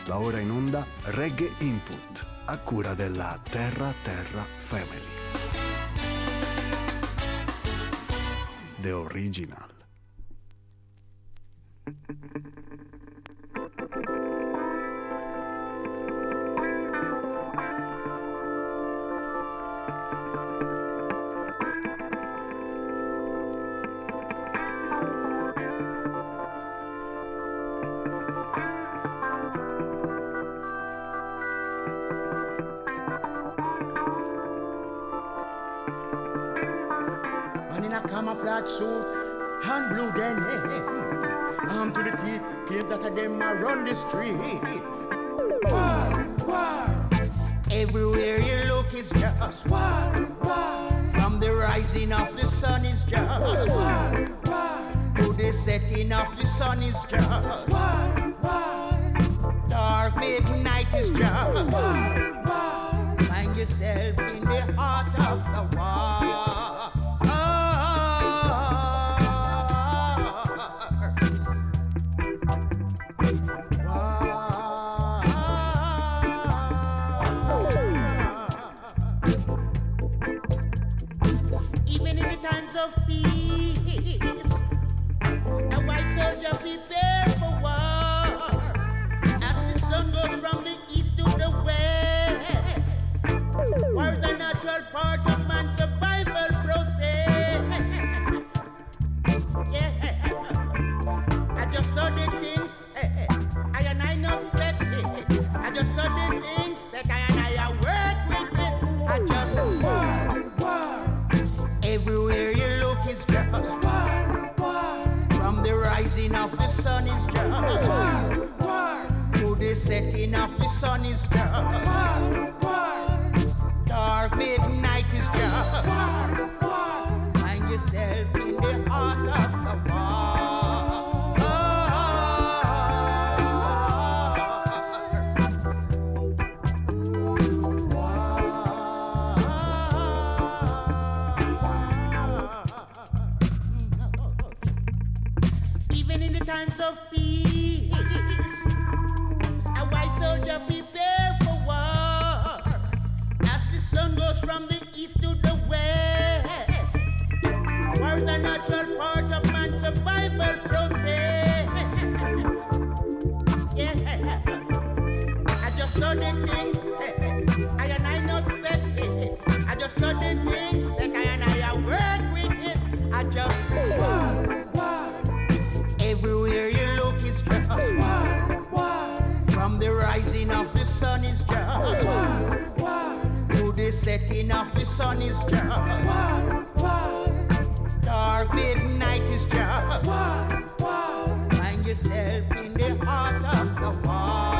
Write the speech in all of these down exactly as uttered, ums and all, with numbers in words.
Va ora in onda Reggae Input, a cura della Terra Terra Family. The Original. Camouflage suit and blue denim, arm to the teeth, claims that of them a run the street. War, war, everywhere you look is just war, war. From the rising of the sun is just war, war. To the setting of the sun is just war, war. Dark midnight is just war, war. Find yourself in the heart of the war. Of peace, a white soldier prepare for war. As the sun goes from the east to the west, war is a natural part of man's survival process. Yeah, I just saw the things I and I know set it. I just saw the things that I and I work with it. I just war, war, everywhere you is just war, war. From the rising of the sun is just war, war. To the setting of the sun is just war, war. Dark midnight is just war, war. Find yourself in the heart of the war. Times of peace, a white soldier prepare for war. As the sun goes from the east to the west, war is a natural part of man's survival process. Yeah, I just saw the things I and I know said it. I just saw the things that I and I work with it. I just war. Everywhere you look is just war, war. From the rising of the sun is just war, war. To the setting of the sun is just war, war. Dark midnight is just war, war. Find yourself in the heart of the war.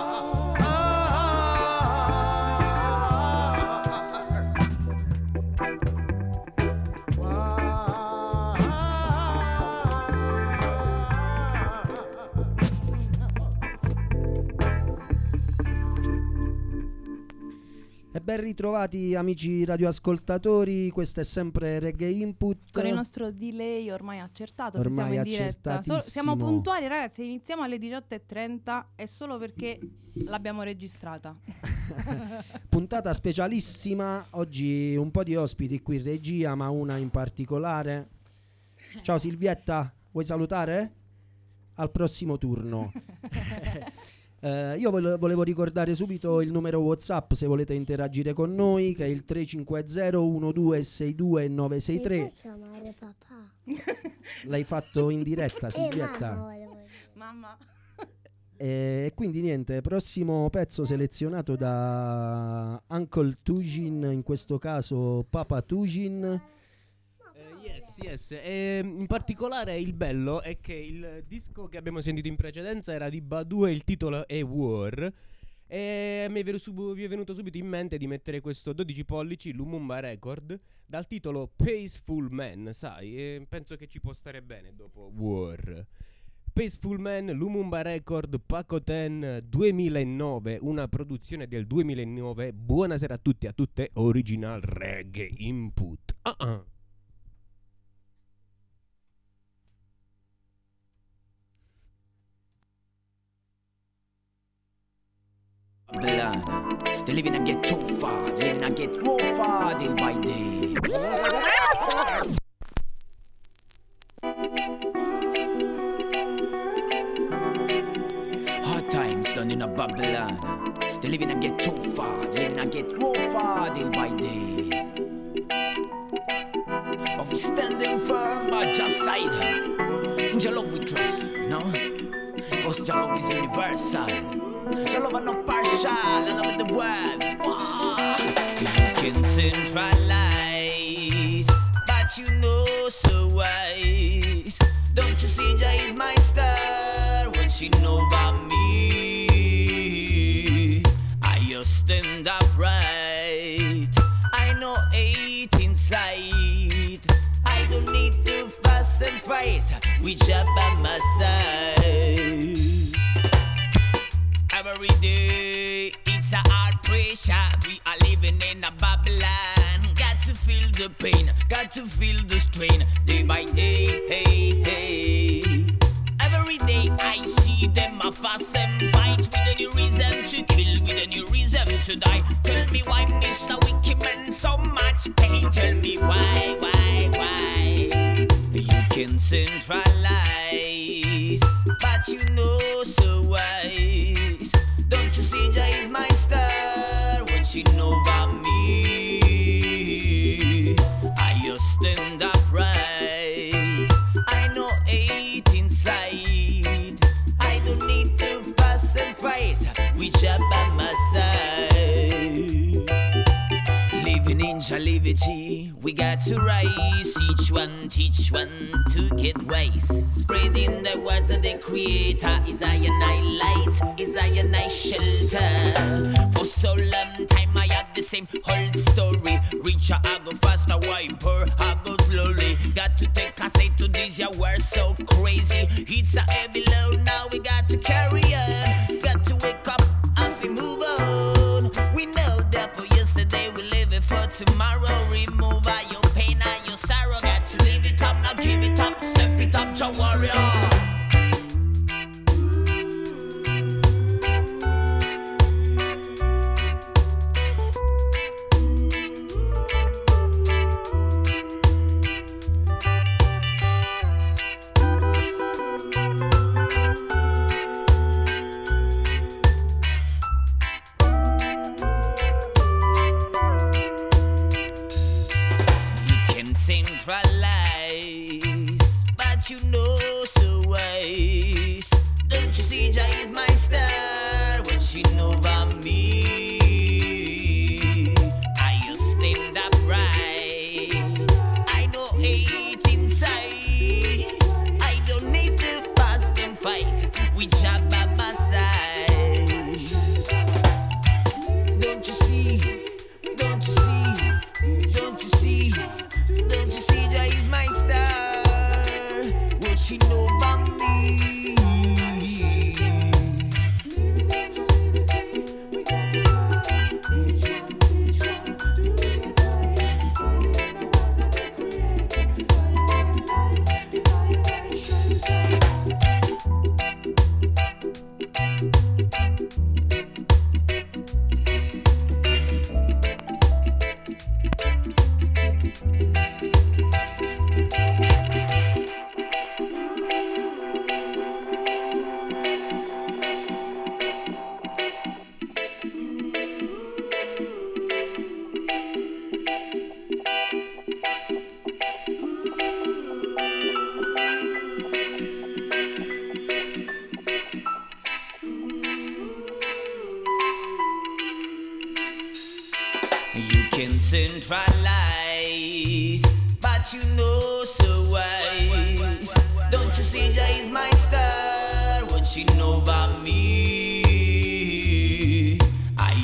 Ben ritrovati amici radioascoltatori, questo è sempre Reggae Input. Con il nostro delay ormai accertato, ormai se siamo in diretta. So, siamo puntuali ragazzi, iniziamo alle diciotto e trenta, è solo perché l'abbiamo registrata. Puntata specialissima, oggi un po' di ospiti qui in regia, ma una in particolare. Ciao Silvietta, vuoi salutare? Al prossimo turno. Uh, io volevo ricordare subito il numero WhatsApp se volete interagire con noi, che è il tre cinque zero uno due sei due nove sei tre. Mi puoi chiamare papà? L'hai fatto in diretta, Silvietta? Eh, mamma. E quindi niente, prossimo pezzo selezionato da Uncle Tujin, in questo caso Papa Tujin. Yes, yes. E in particolare il bello è che il disco che abbiamo sentito in precedenza era di Badu e il titolo è War. E mi è, venuto sub- mi è venuto subito in mente di mettere questo dodici pollici Lumumba Record dal titolo Peaceful Man, sai, e penso che ci può stare bene dopo War. Peaceful Man, Lumumba Record, Pacoten duemilanove, una produzione del duemilanove. Buonasera a tutti e a tutte, Original Reggae Input. Uh-uh. Babylon. They living and get too far, they living and get more far day by day. Hard times done in a Babylon. They living and get too far, they living and get more far day by day. But we standing firm by just side. In your love we trust, you know? Cause your love is universal. Your love is not partial, I love the world. Whoa. You can centralize, but you know so wise. Don't you see Jah is my star? What she know about me? I just stand upright. I know hate inside. I don't need to fuss and fight with Jah by my side. Every day it's a hard pressure. We are living in a Babylon. Got to feel the pain, got to feel the strain. Day by day, hey, hey. Every day I see them a fuss and fight with a new reason to kill, with a new reason to die. Tell me why Mister Wicked Man so much pain. Tell me why, why, why. You can centralize, but you know so wise. Don't you see Jah is my star? What you know about me? I just stand upright. I know hate inside. I don't need to fuss and fight with Jah by my side. Living in Jah liberty, we got to rise. Each one teach one to get wise. Spreading the words of the Creator is I and I light, is I and I shelter. For so long time I had the same old story. Richer I go faster, wiper I go slowly. Got to take a say to this, yeah, we're so crazy. It's a heavy load, now we got to carry on. Got to wake up and we move on. We know that for yesterday we live it for tomorrow. Remove all your pain and your sorrow. Got to leave it up, now give it up, step it up, Jah warrior. Centralize, but you know so wise. Don't you see Jah is my star? What she know about me? I just stand upright. I know hate inside. I don't need to fuss and fight with Jah by my side. Don't you see? Don't you see? Don't you see? Don't you see Jah is my star? What she know about me? You can centralize, but you know so wise. Don't you see Jah is my star? What she know about me? I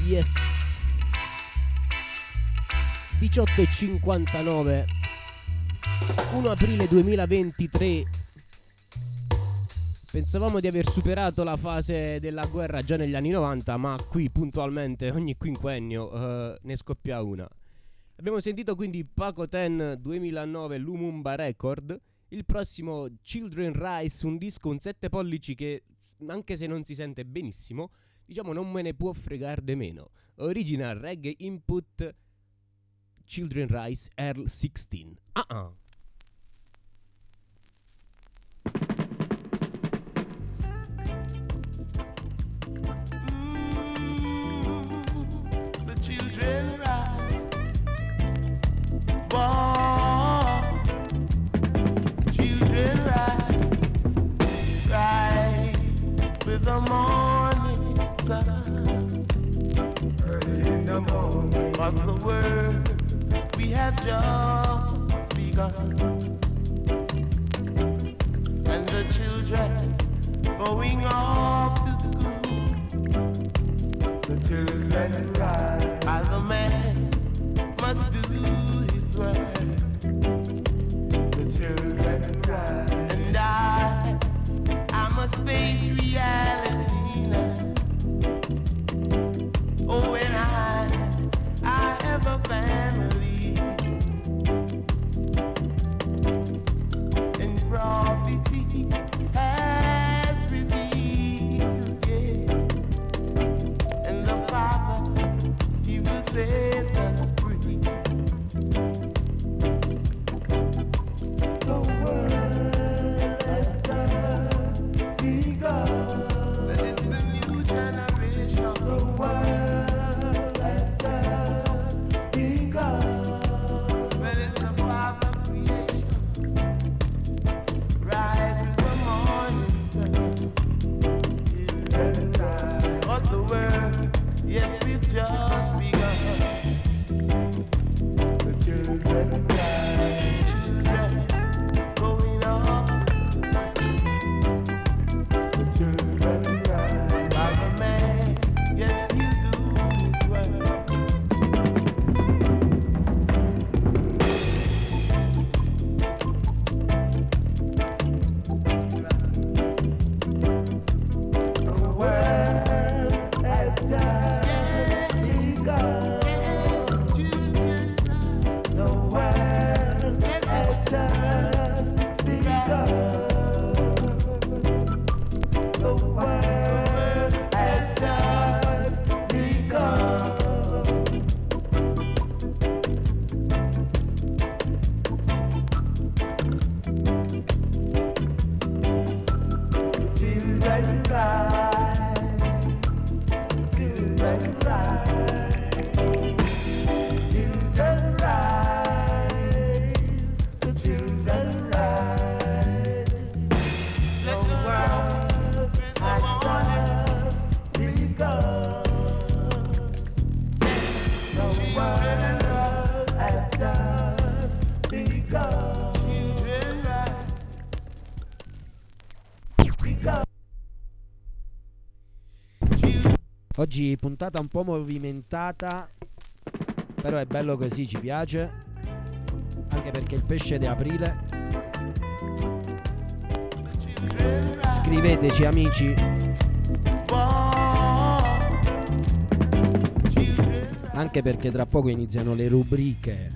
yes. diciotto e cinquantanove, primo aprile duemilaventitré. Pensavamo di aver superato la fase della guerra già negli anni novanta, ma qui puntualmente ogni quinquennio uh, ne scoppia una. Abbiamo sentito quindi Paco Ten duemilanove Lumumba Record. Il prossimo Children Rise, un disco, un sette pollici che anche se non si sente benissimo, diciamo non me ne può fregare de meno. Original Reggae Input Children Rise Earl sedici. Ah ah. The morning sun, early in the morning, was the word we have just begun, and the children going off to school. The children rise, as a man must do his work. The children rise, and I, I must face reality now. Oh, when I, I have a family, and prophecy has revealed, yeah. And the Father, He will set us free. The world has just begun. But it's a new generation. The world has just begun. But it's a Father creation. Rise with the morning sun. Children rise. What's the word? Yes, we've just begun. The children rise. Children going off to school. The children rise. By the man, yes, he'll do his work. The world has just begun. Children rise. The world has just begun. The world has just begun. Children rise. Children rise. Children rise. The children rise. The world has just begun. The world has just begun. Children rise. Begun. Oggi puntata un po' movimentata, però è bello così, ci piace, anche perché il pesce di aprile. Scriveteci amici, anche perché tra poco iniziano le rubriche.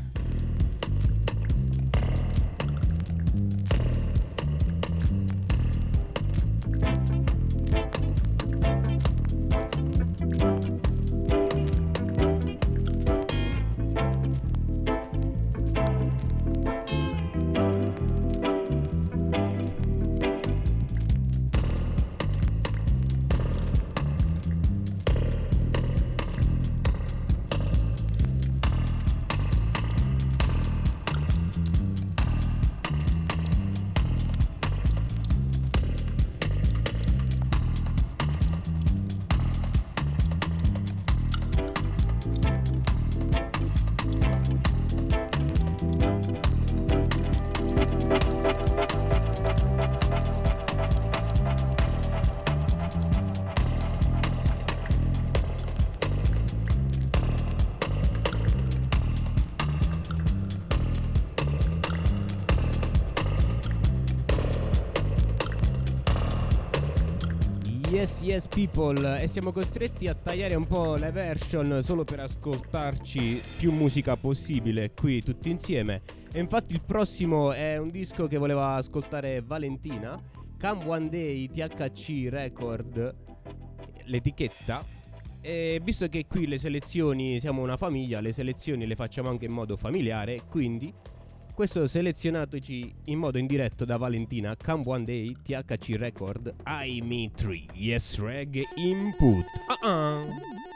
Yes, yes people, e siamo costretti a tagliare un po' le version solo per ascoltarci più musica possibile qui tutti insieme. E infatti il prossimo è un disco che voleva ascoltare Valentina, Come One Day T H C Record, l'etichetta. E visto che qui le selezioni, siamo una famiglia, le selezioni le facciamo anche in modo familiare, quindi questo selezionatoci in modo indiretto da Valentina, Come One Day T H C Record, I Me tre, Yes Reggae Input. Uh-uh.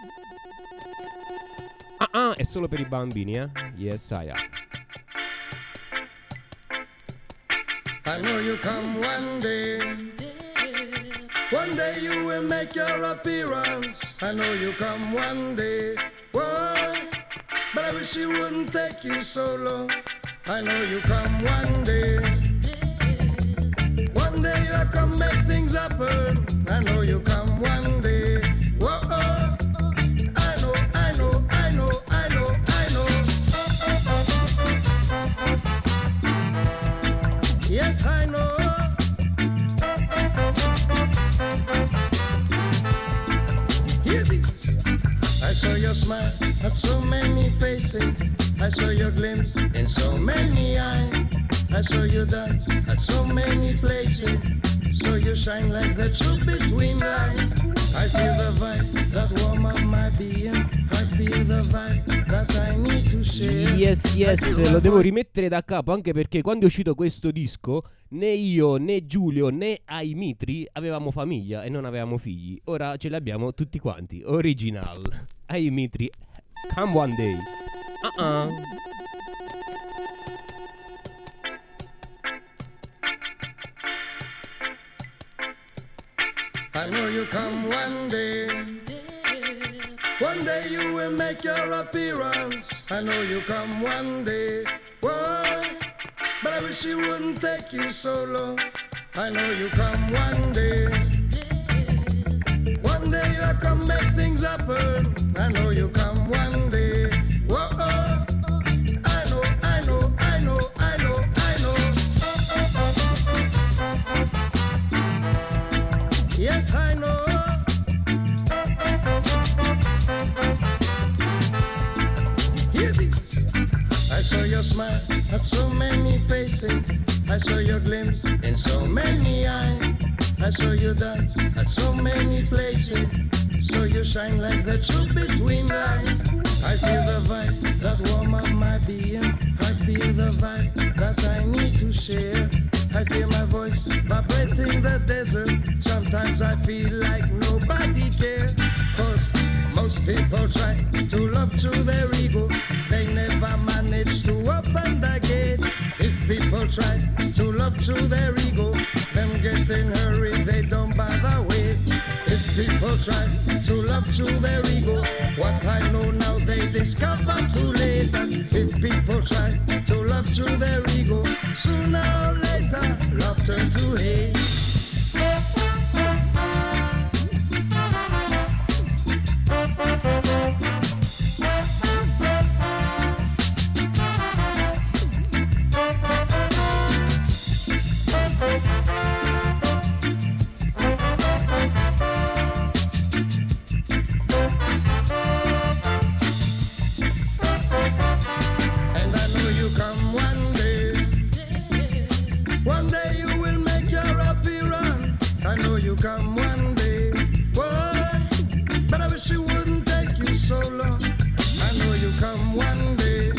Uh-uh, è solo per i bambini, eh? Yes I am. I know you come one day. One day you will make your appearance. I know you come one day. Whoa, but I wish you wouldn't take you so long. I know you come one day. One day you come make things happen. I know you come one day. Whoa, I know, I know, I know, I know, I know. Yes, I know. Hear this. I saw your smile at so many faces. I saw your glimpse in so many eyes. I saw you dance at so many places. So you shine like the truth between lies. I feel the vibe that warm up my being. I feel the vibe that I need to share. Yes, yes, lo devo rimettere da capo, anche perché quando è uscito questo disco né io, né Giulio, né Aimitri avevamo famiglia e non avevamo figli. Ora ce li abbiamo tutti quanti. Original Aimitri, Come One Day. Uh-uh. I know you come one day. One day you will make your appearance. I know you come one day. Whoa, but I wish it wouldn't take you so long. I know you come one day. One day you come make things happen. I know you come one day. Whoa, I know, I know, I know, I know, I know. Yes, I know. Hear this. I saw your smile at so many faces. I saw your glimpse in so many eyes. I saw you dance at so many places. So you shine like the truth between lies. I feel the vibe that warm up my being. I feel the vibe that I need to share. I feel my voice vibrating the desert. Sometimes I feel like nobody cares. Cause most people try to love through their ego. They never manage to open the gate. If people try to love through their ego, them get in hurry, they don't bother wait. If people try to love through their ego, what I know now they discover too late. And if people try to love through their ego, sooner or later love turn to hate. Come one day, boy, but I wish it wouldn't take you so long. I know you come one day.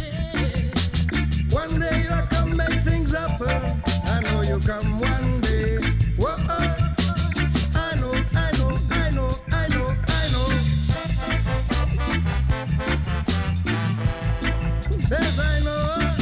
One day you'll come make things happen. I know you come one day. Whoa, I know, I know, I know, I know, I know. Says I know.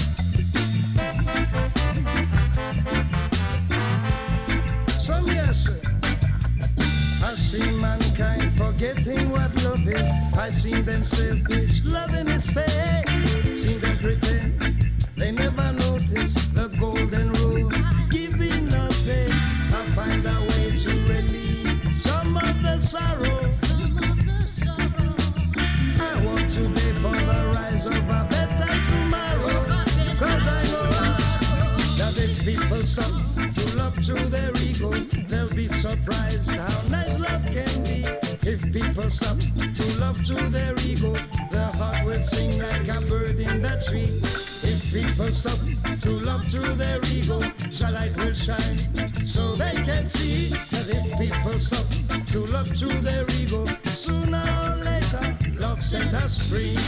Some yes, sir. I see mankind forgetting what love is. I seen them selfish, loving is fake. Seen them pretend they never notice the golden rule, giving nothing. I find a way to relieve some of the sorrow. I want today for the rise of a better tomorrow. Cause I know that if people stop to love through their ego, they'll be surprised how nice people stop to love through their ego, their heart will sing like a bird in the tree. If people stop to love through their ego, the light will shine so they can see. That if people stop to love through their ego, sooner or later love set us free.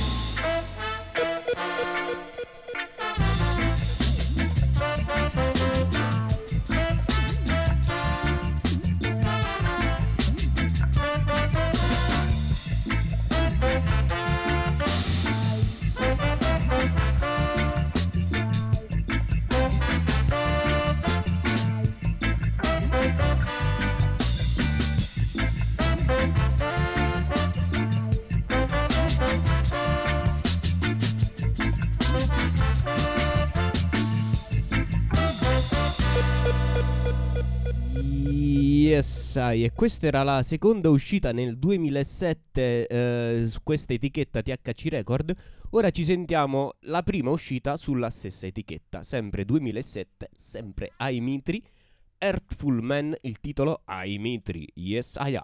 Yes, I. E questa era la seconda uscita nel duemilasette eh, su questa etichetta T H C Record. Ora ci sentiamo la prima uscita sulla stessa etichetta, sempre duemilasette, sempre I Mitri, Earthful Man, il titolo I Mitri. Yes, I.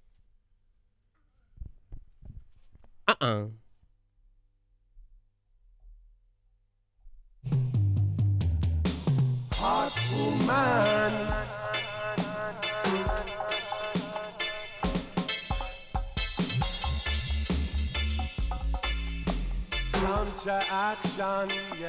Ah-ah. Heartful man, counter action, yeah.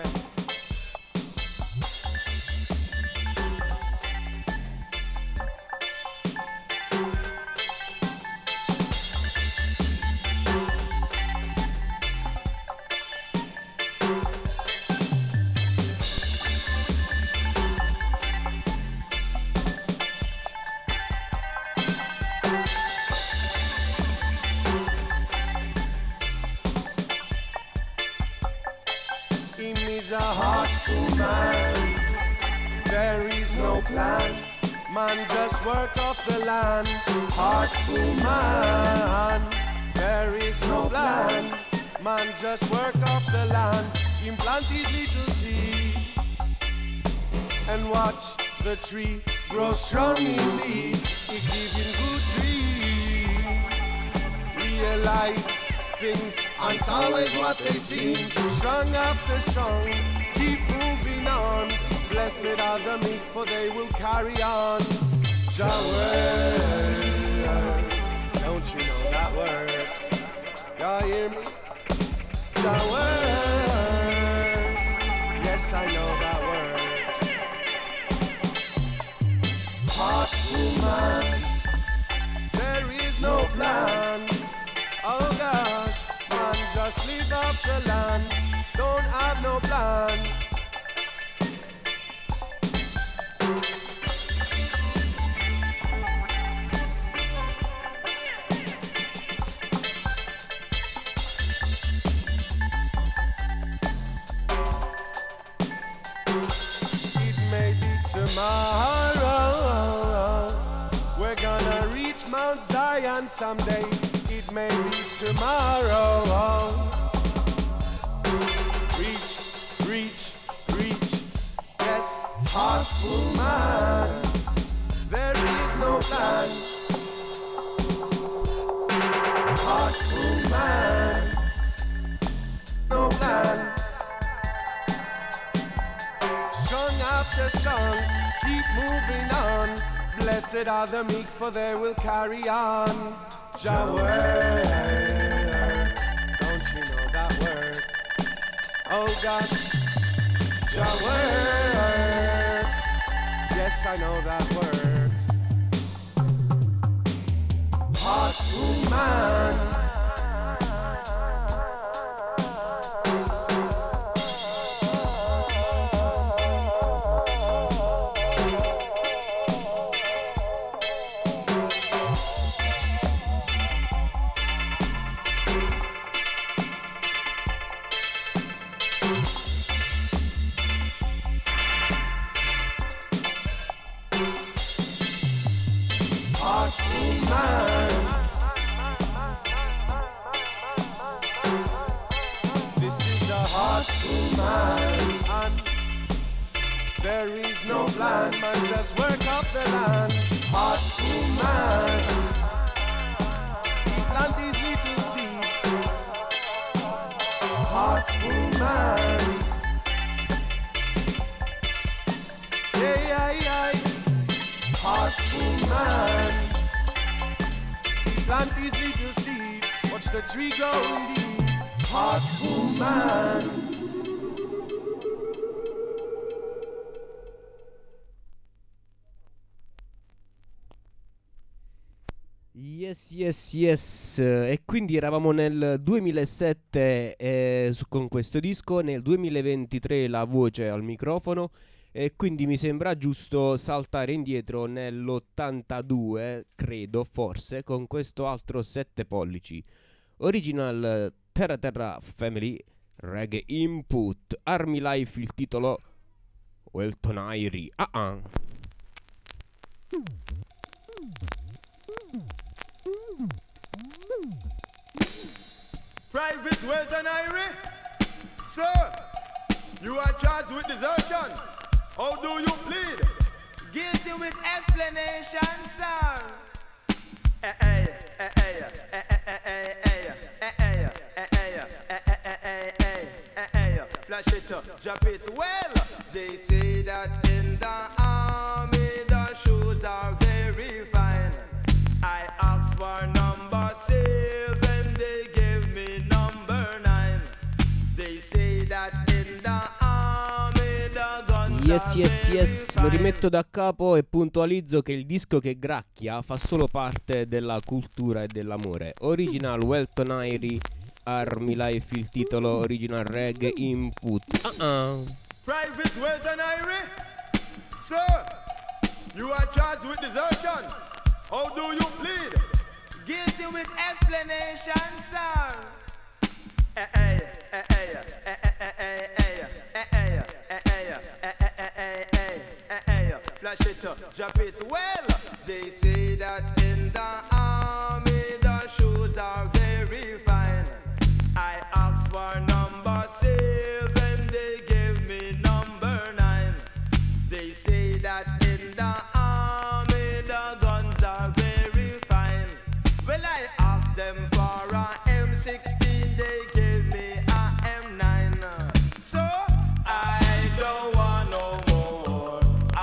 Is a heartful man. There is no plan. Man just work off the land. Heartful man. There is no plan. Man just work off the land. Implanted little seed and watch the tree grow strong indeed. It gives him good dream. Realize things aren't always what they seem. Strong after strong, keep moving on. Blessed are the meek, for they will carry on. Jah works, don't you know that works? Y'all hear me? Jah works, yes I know that works. Heartful man, there is no plan. Oh gosh, man, just live off the land. Don't have no plan. It may be tomorrow. We're gonna reach Mount Zion someday. It may be tomorrow. Reach, reach, reach. Yes, heartful man. There is no plan. Heartful man. No plan. Strong after strong, keep moving on. Blessed are the meek, for they will carry on. Jah works, don't you know that works? Oh gosh, Jah works, yes I know that works. Heartful man. There is no plan, man, just work off the land. Heartful man. woman. Plant his little seed, watch the tree grow indeed. Hot woman. Yes, yes, yes. E quindi eravamo nel duemilasette eh, su- con questo disco, nel duemilaventitré la voce al microfono, e quindi mi sembra giusto saltare indietro nell'ottantadue, credo, forse, con questo altro sette pollici. Original Terra Terra Family Reggae Input, Army Life, il titolo Welton Airy. Ah ah. Private Welton Irie, sir, you are charged with desertion. How do you plead? Guilty with explanation, sir. Eh eh eh eh eh eh eh eh eh eh eh eh flash it up, drop it. Well, they say that in the army the shoes are very fine. I asked for number seven, they gave me number nine. They say that in the army the guns Yes, are yes, very yes, lo fine. rimetto da capo e puntualizzo che il disco che gracchia fa solo parte della cultura e dell'amore. Original Welton Airy, Army Life, il titolo original Reggae Input. Uh-uh. Private Welton Irie, sir, you are charged with desertion. How do you plead? Guilty with explanation, sir. Eh eh eh eh eh eh eh eh eh eh eh eh eh flash it up, drop it. Well, they say that in the army the shoes are very fine. I asked for number seven, they gave me number nine. They say that in the army the guns are very fine. Well, I asked them for a M sixteen, they gave me a M nine. So I don't want no more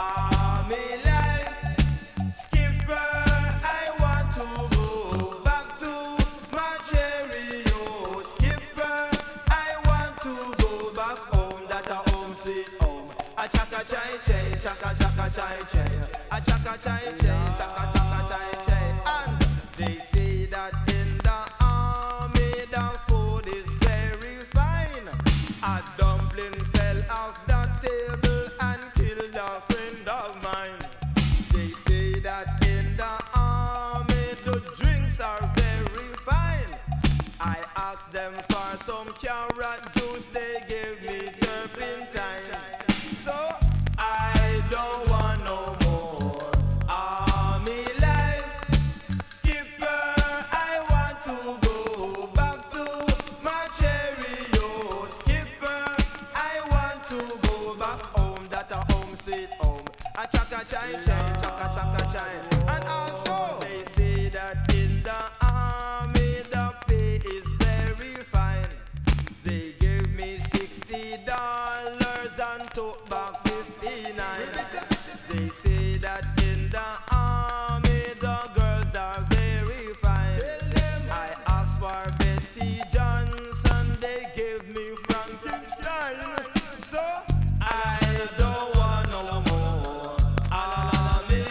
army life. Skipper, I want to go back to my Cheerio. Skipper, I want to go back home. That a home sweet home. A chaka chai chai, chaka chaka chai chai. A chaka chai chai, chaka chaka chai chai. And they say that in the army the food is very fine. A dumpling fell off the table and killed a friend of mine. They say that in the army the drinks are very fine. I asked them for some carrot juice, they gave me turpentine. So I don't want no more army life. Skipper, I want to go back to my Cheerio. Skipper, I want to go back home. That a home sweet home. A chaka chai chai, chaka chaka chai. And also they say that in the army the pay is very fine. They gave me sixty dollars and took back fifty-nine. They say that in the army the girls are very fine. I asked for Betty Johnson, they gave me Frankenstein. So I don't want no more army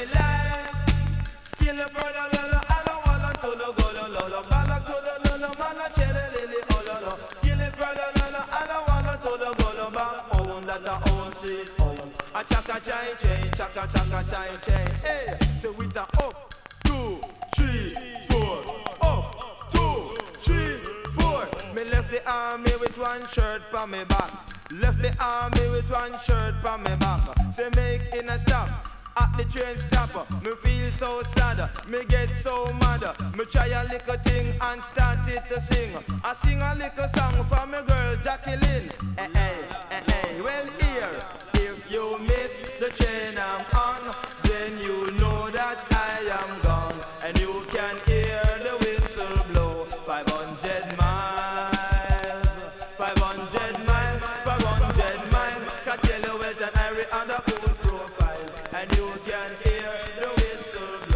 life. Skill a brother, lolo, I don't want to the go, lolo, back to the lolo, man, a cherry lily, oh, lolo. Skill a brother, lolo, I don't want to the go, back home, that a own sweet home. A chaka chai chain, chaka chaka chai chain. Hey, so with the up, two, three, four. Up, two, three, four. Me left the army with one shirt on me back. Left the army with one shirt on me back. Say make in a stop at the train stopper. Me feel so sad, me get so mad. Me try a little thing and start it to sing. I sing a little song for my girl Jacqueline. Eh eh eh eh. Well here, if you miss the train I'm on, then you know that I am gone, and you can hear the whistle blow. Five hundred miles, five hundred miles, five hundred miles. Can tell you well that I re on the cool profile, and you can hear the whistle blow.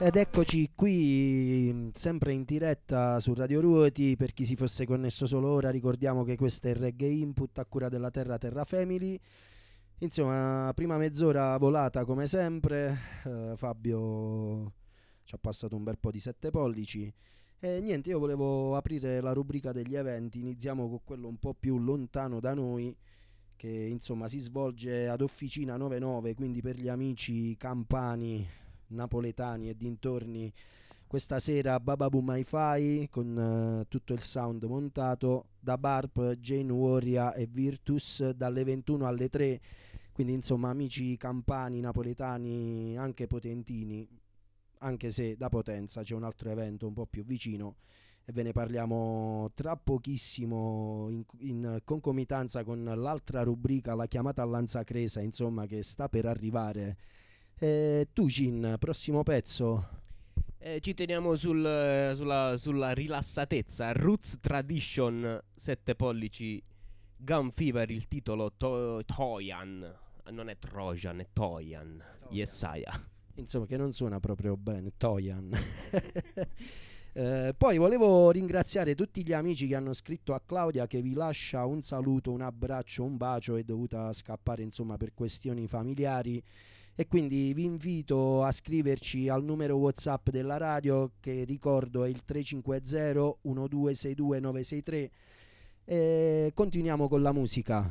Ed eccoci qui, sempre in diretta su Radio Ruoti. Per chi si fosse connesso solo ora, ricordiamo che questo è il Reggae Input a cura della Terra Terra Family. Insomma, prima mezz'ora volata come sempre. eh, Fabio ci ha passato un bel po' di sette pollici. E niente, io volevo aprire la rubrica degli eventi. Iniziamo con quello un po' più lontano da noi, che insomma si svolge ad Officina novantanove, quindi per gli amici campani, napoletani e dintorni. Questa sera Baba Boom Hi-Fi con uh, tutto il sound montato da Barp, Jane Warrior e Virtus dalle ventuno alle tre. Quindi insomma amici campani, napoletani, anche potentini, anche se da Potenza c'è un altro evento un po' più vicino e ve ne parliamo tra pochissimo in, in concomitanza con l'altra rubrica, la chiamata a Lanzacresa, insomma, che sta per arrivare. Eh, tu Cin, prossimo pezzo? Eh, ci teniamo sul, sulla, sulla rilassatezza. Roots Tradition, sette pollici, Gun Fever, il titolo to- Toyan, non è Trojan, è Toyan, Yesaya. Insomma, che non suona proprio bene, Toyan. eh, poi volevo ringraziare tutti gli amici che hanno scritto a Claudia, che vi lascia un saluto, un abbraccio, un bacio, è dovuta scappare insomma per questioni familiari. E quindi vi invito a scriverci al numero WhatsApp della radio, che ricordo è il tre cinque zero uno due sei due nove sei tre. E continuiamo con la musica.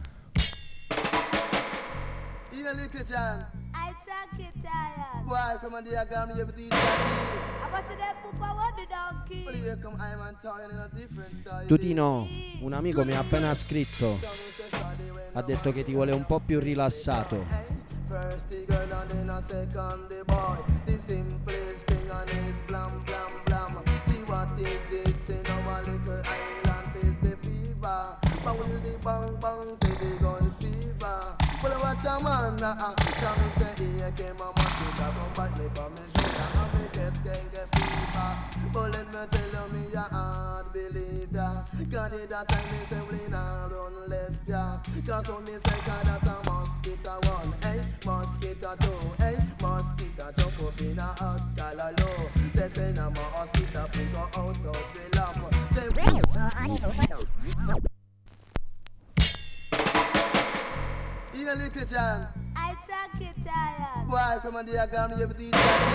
In a little John, I talk it tired. boy from a diagram you have the I was there for power the donkey. Well, here come I'm and toying in a different style. Tutino, un amico mi ha appena scritto, ha detto che ti vuole un po' più rilassato. First the girl and then a second the boy. The simplest thing and it's blam blam blam. See what is this in our little island is the fever. Bang will the bang bang say the gun fever. Well I watch a man uh, tell me say here came a mosquito come bite me from me shoulder and me catch dengue fever. But let me tell you me ya hard believe ya. Cause it that time me say we not run left ya. Cause when me say cause that a mosquito one, eh? Mosquito two, eh? Mosquito jump up in a hot collar low. Say say na mosquito figure out of the lamp. Say in a little John, I talk it tired. boy from a diagram you have the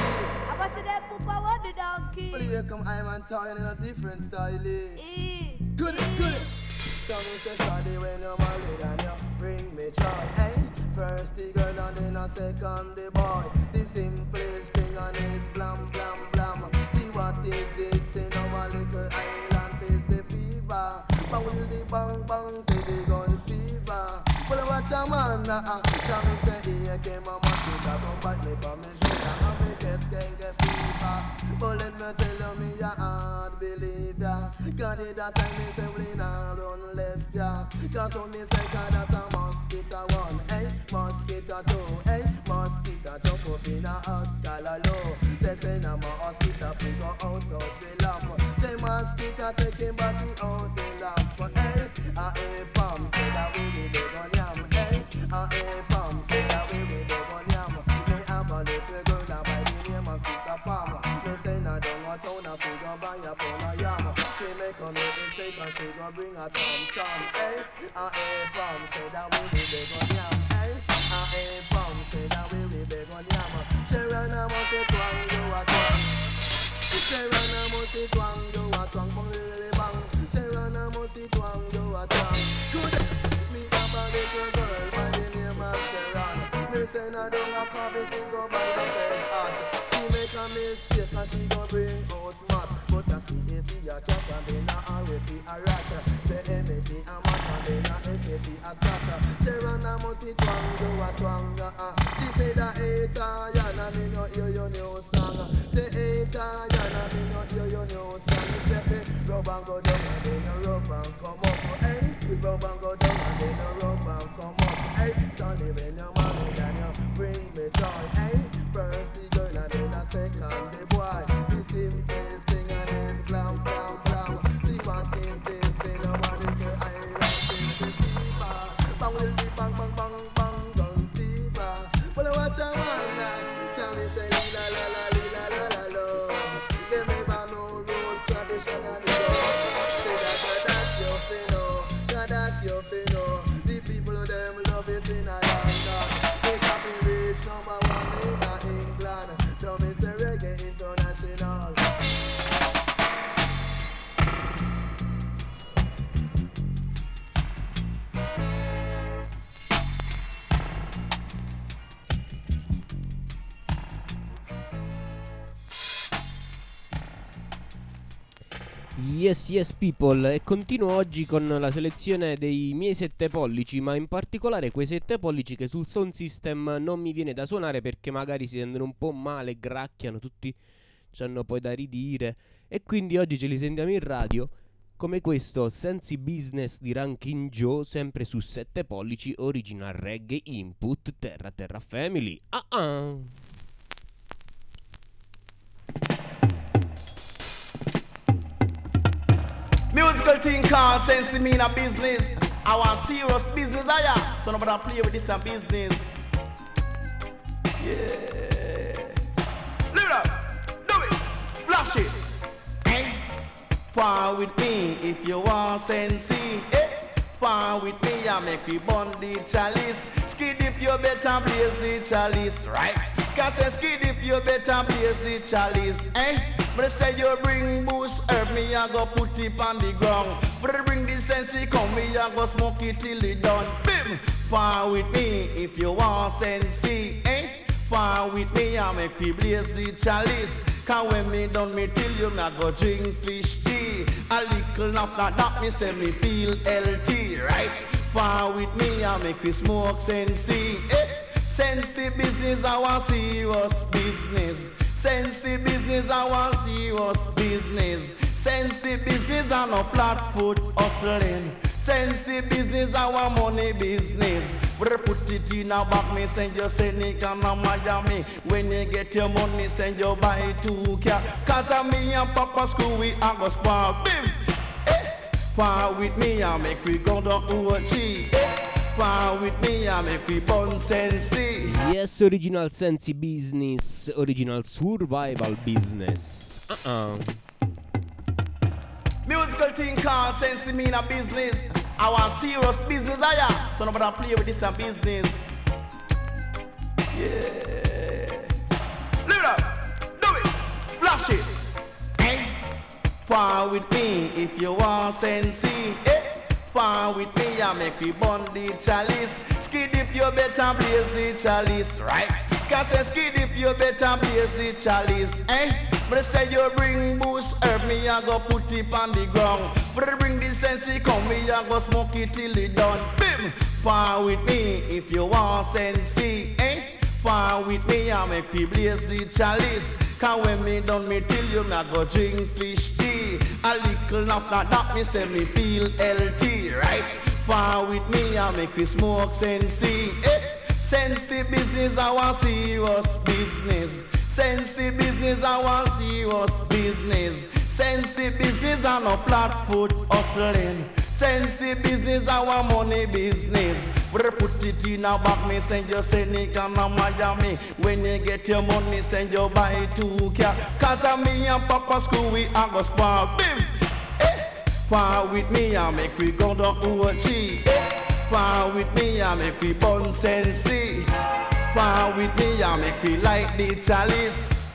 I was there for power the donkey. well here come I'm and toying in a different style. E. Good it, good it. Tell me say sorry when you're married and you bring me joy, eh? First the girl and then a second the boy. The simplest thing and it's blam blam blam. See what is this in our little island is the fever. Bang will the bang bang say the gun fever. Well I watch a man uh, tell me say here came a mosquito come bite me from me shoulder and me catch dengue fever. But let me tell you me ya hard believe ya. Cause it that time me say we not run left ya. Cause when me say cause that a mosquito one, eh? Mosquito two, eh? Mosquito jump up in a hot collar low. Say say na mosquito figure out of the lamp. Say mosquito taking body out the lamp, eh? A a palm say that we be big on yam, eh? A a palm say that we be big on yam. Me have a little girl that by the name of Sister Palm. Me say na down a town a figure buy a pound of yam. She make a make mistake and she go bring a tom tom, eh? A a palm say that we be big on yam, eh? A a palm say that we be big on yam. She run a must say twang you a twang. She run a must say twang you a twang, bang really bang. She run a must say twang you a twang. Good. Me have a little girl by the name of Sharon. Me say na down a coffee she go buy a pen hot. She make a mistake and she go bring house mat. But I see it a cat and then a R-A-P a rat. Say M-A-T a mat and then a S-A-T a sat. She run a must see twang you a twang. uh, She say that eta yana me no hear your new song. Say eta yana me no hear your new song. It's a fit rub and go down and then a rub and come up, eh? Rub and go down and then a rub and come up, eh? Sonny when you're married and you bring me joy, eh? First the girl and then a second the boy. The simplest thing and it's blam blam blam. See what is this in our little island is the fever. Bang will be bang bang bang bang gun fever. Well I watch a man now, tell me say la la la la la la la. Yes, yes people, e continuo oggi con la selezione dei miei sette pollici, ma in particolare quei sette pollici che sul sound system non mi viene da suonare perché magari si sentono un po' male, gracchiano, tutti c'hanno poi da ridire, e quindi oggi ce li sentiamo in radio come questo Sensi Business di Ranking Joe, sempre su sette pollici, original reggae input, Terra Terra Family. Ah ah! Musical thing called Sense Me in a business. I want serious business, I am. So nobody play with this a business. Yeah. Live it up. Do it. Flash it. Hey. Far with me if you want sense. Hey. Far with me, I make we burn the chalice. Skid if you better blaze the chalice, right? Cause I skid if you better blaze the chalice, eh? But say you bring bush herb, me I go put it on the ground. But bring the sense, come me I go smoke it till it done. Bim! Far with me if you want sense, eh? Far with me I make we blaze the chalice. Cause when me done me till you, me I go drink fish tea. A little after that me say me feel healthy, right? Far with me I make we smoke sensi, eh? Sensi business I want serious business. Sensi business I want serious business. Sensi business I no flat foot hustling. Sensi business I want money business. We put it in a bag, me send you Seneca and Miami. When you get your money, send you buy two car. Cause of me and Papa school, we a go spark. Bim! Eh! Far with me, I make we go down O G. Eh! Far with me, I make we burn sensi. Yes, original sensi business, original survival business. Uh-uh. Musical thing called sensi me in a business. I want serious business, I am. So nobody play with this a business. Yeah. Live it up. Do it. Flash it. Eh? Far with me if you want sensi. Eh? Far with me, I make we burn the chalice. Skid if you better blaze the chalice, right? Cause I skid if you better blaze the chalice, eh? But say you bring bush herb, me I go put it on the ground. But bring the sense, come me I go smoke it till it done. Bim! Far with me if you want sense, eh? Far with me, I make we blaze the chalice. Cause when me done me till you, me I go drink fish tea. A little after that, me say me feel healthy, right? Far with me, I make we smoke sensi, eh? Sensi business, I want serious business. Sensi business, I want serious business. Sensi business, I no flat foot hustling. Sensi business, I want money business. We put it in a bag, me send you Seneca and Miami. When you get your money, send you buy two car. Cause of me and Papa school, we a go spark. Bim! Eh! Far with me, I make we go down O G. Eh! Far with me, I make we burn sensi. Far with me, I make we light the chalice.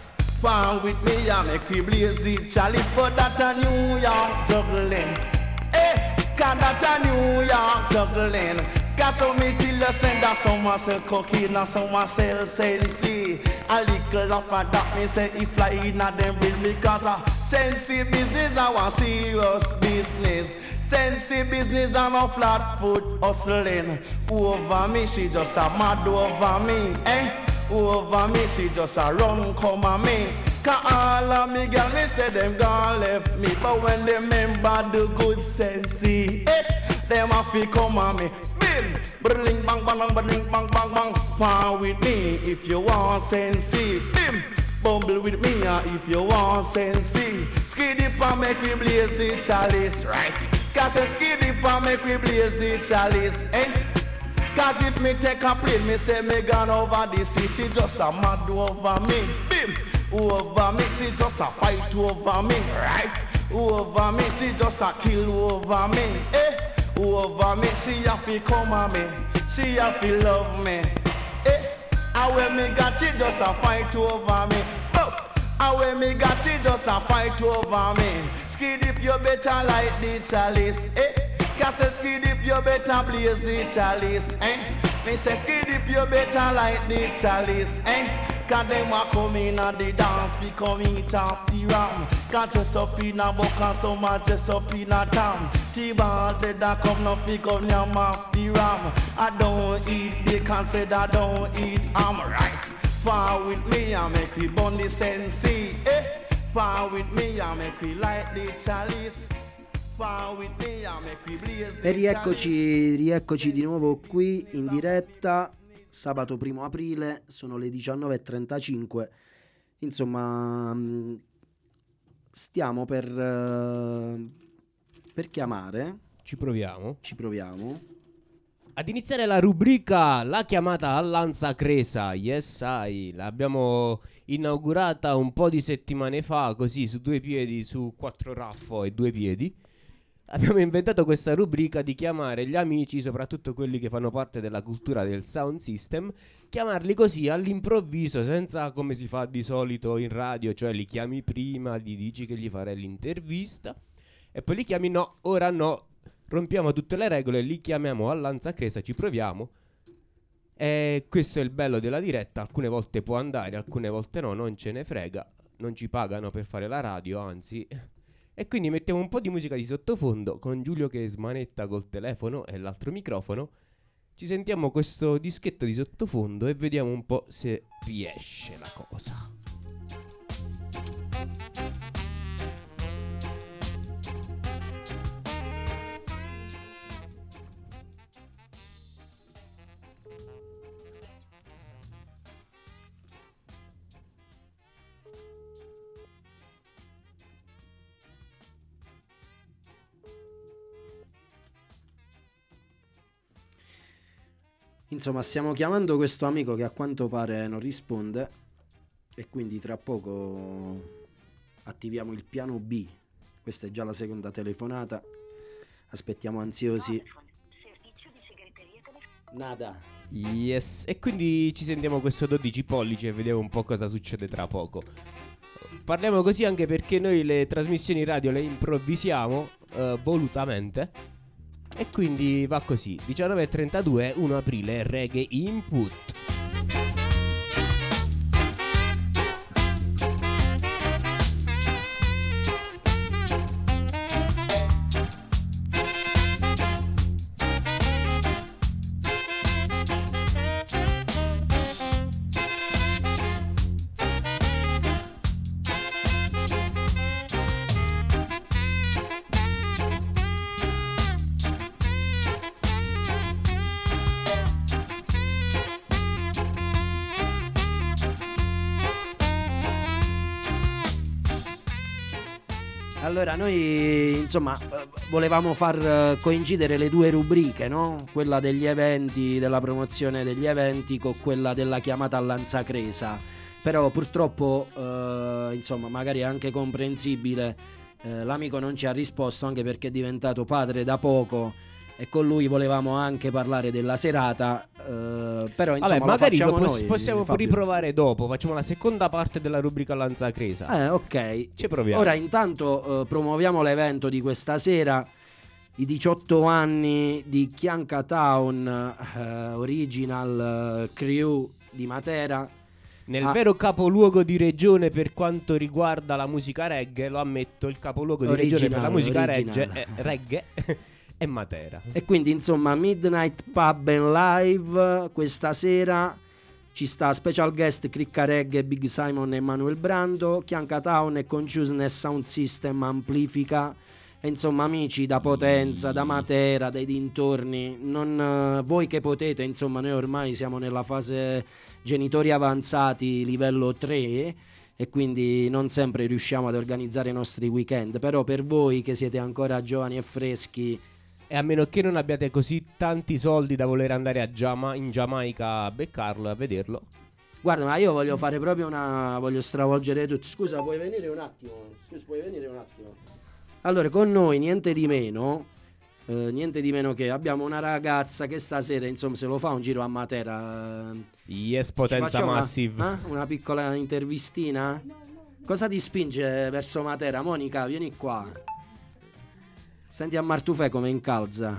Far with me, I make we blaze the chalice. But that a New York juggling. Eh! Cause that a New York juggling. Cause so me till you send that some sell cocaine and some sell sensi. A little after that me say if fly in a them bill me cause a sensi business I want serious business. Sensi business I no flat foot hustling. Over me she just a mad over me, eh? Over me she just a run come at me. Cause all of me girl me say them gone left me. But when they remember the good sensi, eh? Them a fi come at me. Bring bang bang bang bang bang bang bang. Far with me if you want sensi. Bim. Bumble with me uh, if you want sensi. Skiddy pa make we blaze the chalice, right? Cause a skiddy pa make we blaze the chalice, eh? Cause if me take a plane, me say me gone over the sea. She just a mad over me. Bim. Over me, she just a fight over me, right? Over me, she just a kill over me, eh? Over me, she have to come at me. She have to love me. Eh? And when me got she just a fight over me. Oh! And when me got she just a fight over me. Skid if you better light the chalice, eh? Cause a skid if you better blaze the chalice, eh? Me say skid if you better light the chalice, eh? Cause them a come in at the dance, become eat off the ram. Can't dress up in a buck and some a dress up in a tam. T-ball said that come no pick up yam off the ram. I don't eat bacon, said I don't eat ham, right? Far with me, I make we burn the sensi, eh? Far with me, I make we light the chalice. Far with me, I make we blaze the E rieccoci, rieccoci di nuovo qui in diretta. Sabato primo aprile, sono le diciannove e trentacinque. Insomma, mh, stiamo per, uh, per chiamare. Ci proviamo. Ci proviamo. Ad iniziare la rubrica La chiamata a Lanza Cresa. Yes, I. L'abbiamo inaugurata un po' di settimane fa, così su due piedi, su quattro raffo e due piedi. Abbiamo inventato questa rubrica di chiamare gli amici, soprattutto quelli che fanno parte della cultura del sound system, chiamarli così all'improvviso, senza come si fa di solito in radio, cioè li chiami prima, gli dici che gli farai l'intervista e poi li chiami no, ora no, rompiamo tutte le regole, li chiamiamo a Lanza Cresa, ci proviamo. E questo è il bello della diretta, alcune volte può andare, alcune volte no, non ce ne frega, non ci pagano per fare la radio, anzi. E quindi mettiamo un po' di musica di sottofondo con Giulio che smanetta col telefono e l'altro microfono. Ci sentiamo questo dischetto di sottofondo e vediamo un po' se riesce la cosa. Insomma, stiamo chiamando questo amico che a quanto pare non risponde e quindi tra poco attiviamo il piano B. Questa è già la seconda telefonata. Aspettiamo ansiosi. Nada. Yes, e quindi ci sentiamo questo dodici pollici e vediamo un po' cosa succede tra poco. Parliamo così anche perché noi le trasmissioni radio le improvvisiamo uh, volutamente. E quindi va così, diciannove e trentadue, primo aprile, Reggae Input. Allora, noi insomma volevamo far coincidere le due rubriche, no? Quella degli eventi, della promozione degli eventi, con quella della chiamata a Lanza Cresa. Però purtroppo, eh, insomma, magari è anche comprensibile, eh, l'amico non ci ha risposto, anche perché è diventato padre da poco e con lui volevamo anche parlare della serata, eh, però insomma Vabbè, magari lo facciamo lo pos- noi, possiamo Fabio. riprovare dopo, facciamo la seconda parte della rubrica Lanza Cresa. Eh, ok. Ci proviamo. Ora intanto eh, promuoviamo l'evento di questa sera, i diciotto anni di Chianca Town, eh, Original eh, Crew di Matera. Nel Ah. vero capoluogo di regione per quanto riguarda la musica reggae, lo ammetto, il capoluogo di regione per la Original, musica original. reggae è, reggae è Matera. E quindi insomma Midnight Pub and Live questa sera. Ci sta special guest Cricca Reggae, Big Simon e Manuel Brando. Chianca Town e Consciousness Sound System amplifica. E insomma amici da Potenza, da Matera, dai dintorni, non, eh, voi che potete, insomma noi ormai siamo nella fase genitori avanzati livello tre e quindi non sempre riusciamo ad organizzare i nostri weekend, però per voi che siete ancora giovani e freschi, E a meno che non abbiate così tanti soldi da voler andare a Giama- in Giamaica a beccarlo, a vederlo. guarda, ma io voglio fare proprio una, voglio stravolgere tutto. Scusa, puoi venire un attimo? Scusa, puoi venire un attimo? Allora, con noi niente di meno, eh, niente di meno che abbiamo una ragazza che stasera, insomma, se lo fa un giro a Matera. eh, Yes, ci Potenza facciamo una- Massive. eh? Una piccola intervistina? Cosa ti spinge verso Matera? Monica, vieni qua. Senti a Martufè come incalza.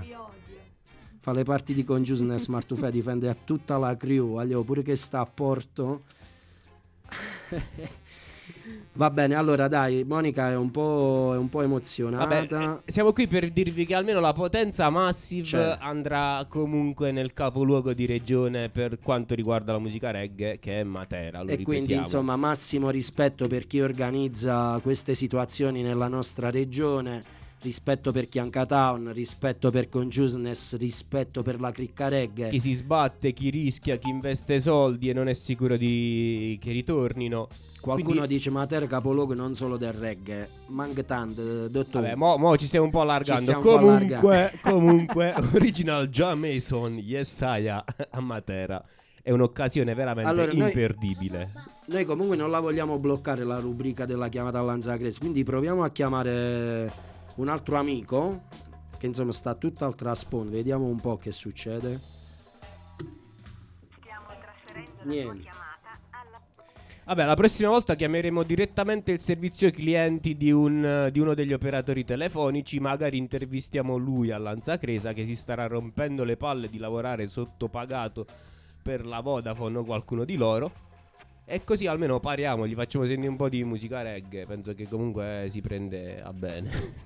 Fa le parti di Consciousness. Martufè difende a tutta la crew. Aglio, pure che sta a Porto. Va bene, allora dai, Monica è un po', è un po' emozionata. Vabbè, eh, siamo qui per dirvi che almeno la Potenza Massive C'è. andrà comunque nel capoluogo di regione per quanto riguarda la musica reggae, che è Matera. Lo E quindi ripetiamo. insomma massimo rispetto per chi organizza queste situazioni nella nostra regione, rispetto per Chianca Town, rispetto per Consciousness, rispetto per la cricca reggae. Chi si sbatte, chi rischia, chi investe soldi e non è sicuro di che ritornino. Qualcuno Quindi- dice Matera capoluogo non solo del reggae, manca tanto, dottore. Vabbè, mo, mo ci stiamo un po' Ci allargando. stiamo un po' Comunque, allargando. comunque, Original Jamason, Yesaya a Matera è un'occasione veramente Allora, noi- imperdibile. Noi comunque non la vogliamo bloccare la rubrica della chiamata all'Anzacres, quindi proviamo a chiamare un altro amico che insomma sta tutt'altra sponda. Vediamo un po' che succede. Niente. Vabbè, la prossima volta chiameremo direttamente il servizio clienti di, un, di uno degli operatori telefonici. Magari intervistiamo lui a Lanzacresa, che si starà rompendo le palle di lavorare sottopagato per la Vodafone o qualcuno di loro. E così almeno pariamo, gli facciamo sentire un po' di musica reggae. Penso che comunque si prende a bene.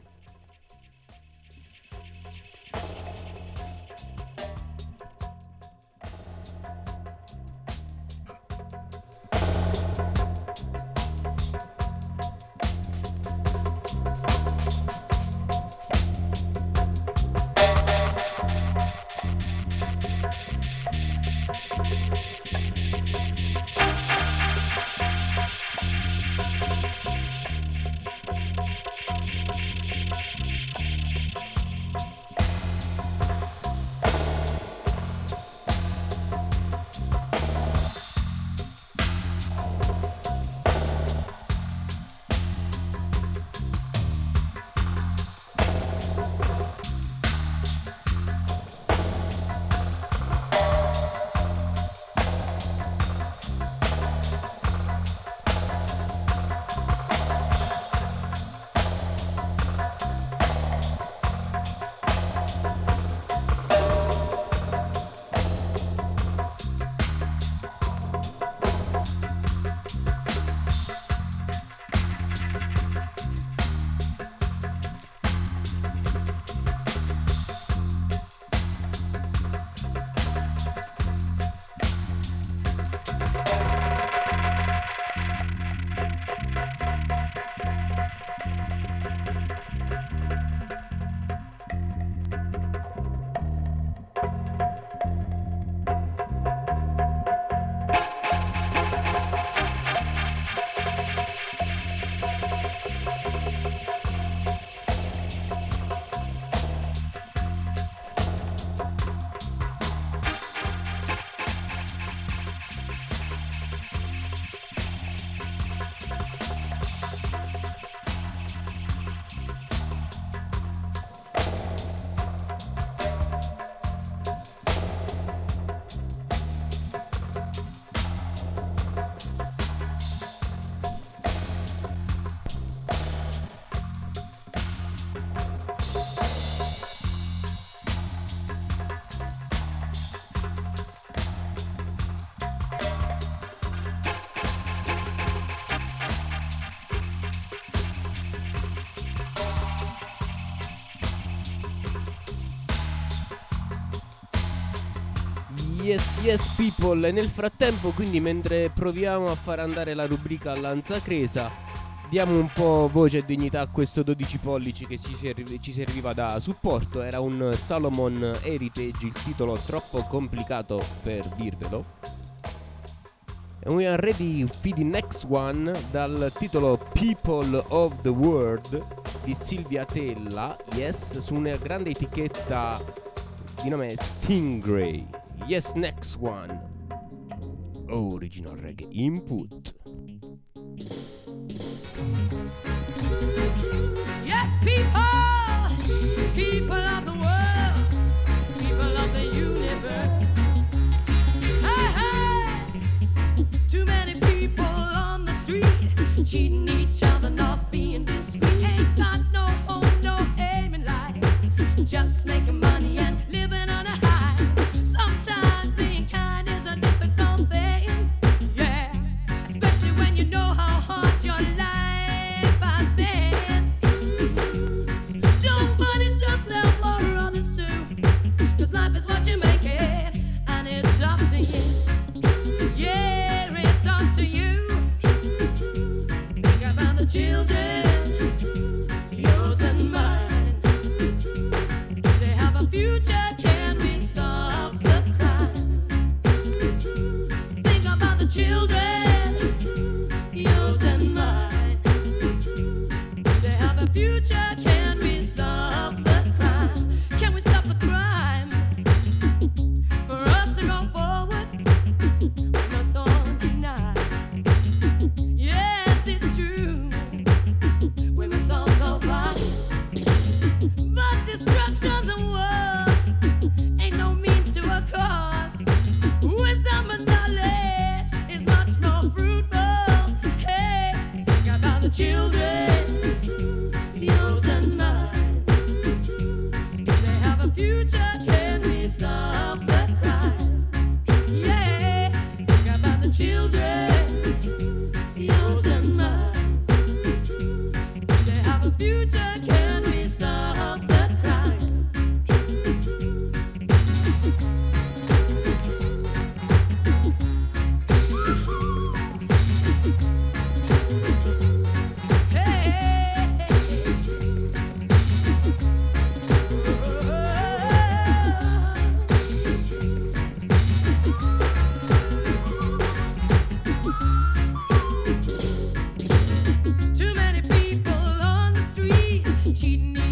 Yes, yes people. E nel frattempo, quindi, mentre proviamo a far andare la rubrica Lanzacresa, diamo un po' voce e dignità a questo dodici pollici che ci, serv- ci serviva da supporto. Era un Salomon Heritage, il titolo troppo complicato per dirvelo. And we are ready for the next one, dal titolo People of the World di Silvia Tella. Yes, su una grande etichetta di nome Stingray. Yes, next one. Original Reggae Input. Yes, people, people of the world, people of the universe. Hey, hey, too many people on the street, cheating each other, not being discreet. Ain't got no home, no aim in life, just making money and living on a high. Sometimes being kind is a difficult thing, yeah, especially when you know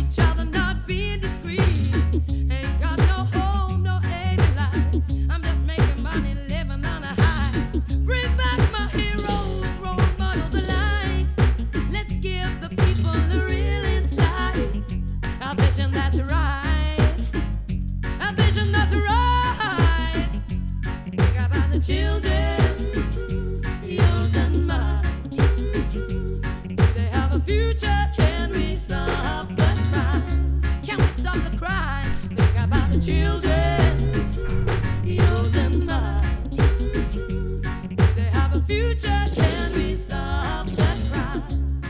each other, not being discreet. Ain't got no home, no aim in life. I'm just making money, living on a high. Bring back my heroes, role models alike. Let's give the people the real inside. A vision that's right. A vision that's right. Think about the children, yours and mine. Do they have a future? Can we stop the crime? Can we stop the crime? Think about the children, yours and mine. Do they have a future? Can we stop the crime?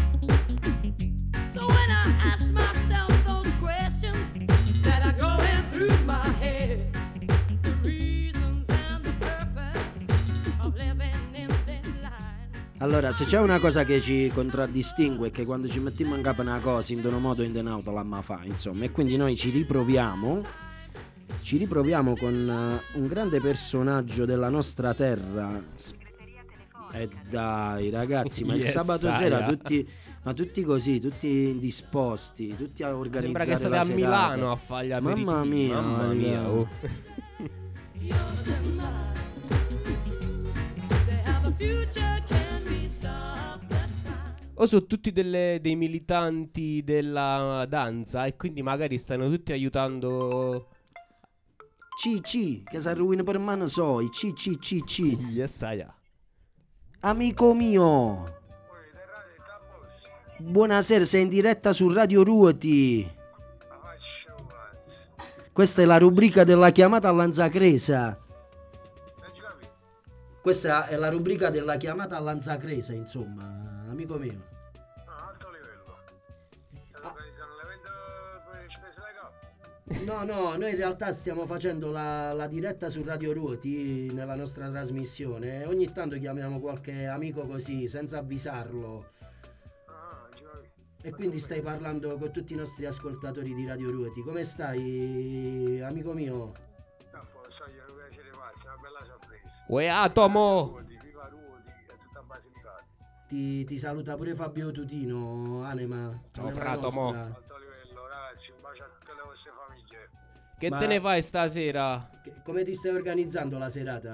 So when I ask myself those questions that are going through my head, the reasons and the purpose of living in this life. Allora, se c'è una cosa che ci contraddistingue è che quando ci mettiamo in capo una cosa, in un modo o in un altro la ma fa, insomma, e quindi noi ci riproviamo, ci riproviamo con uh, un grande personaggio della nostra terra. E eh dai ragazzi, ma il Yes, sabato aia. sera tutti, ma tutti così, tutti indisposti, tutti a organizzare Sembra che state la a serata. Milano a fare gli aperitivi. Mamma mia, Mamma mia, allora. oh. Yours and mine. Do they have a future? Can we stop the crime? O sono tutti delle- dei militanti della danza e quindi magari stanno tutti aiutando. C C, che si arruina per mano soi, C C C C. Yes, aia. Amico mio, buonasera, sei in diretta su Radio Ruoti. Questa è la rubrica della chiamata a Lanzacresa. Questa è la rubrica della chiamata a Lanzacresa, insomma, amico mio. No, no, noi in realtà stiamo facendo la, la diretta su Radio Ruoti nella nostra trasmissione. Ogni tanto chiamiamo qualche amico così, senza avvisarlo. E quindi stai parlando con tutti i nostri ascoltatori di Radio Ruoti. Come stai, amico mio? Uè, Atomo! Ti, ti saluta pure Fabio Tutino, Anema. Ciao, Anema frato, nostra. mo. Che Ma- te ne fai stasera? Che- come ti stai organizzando la serata?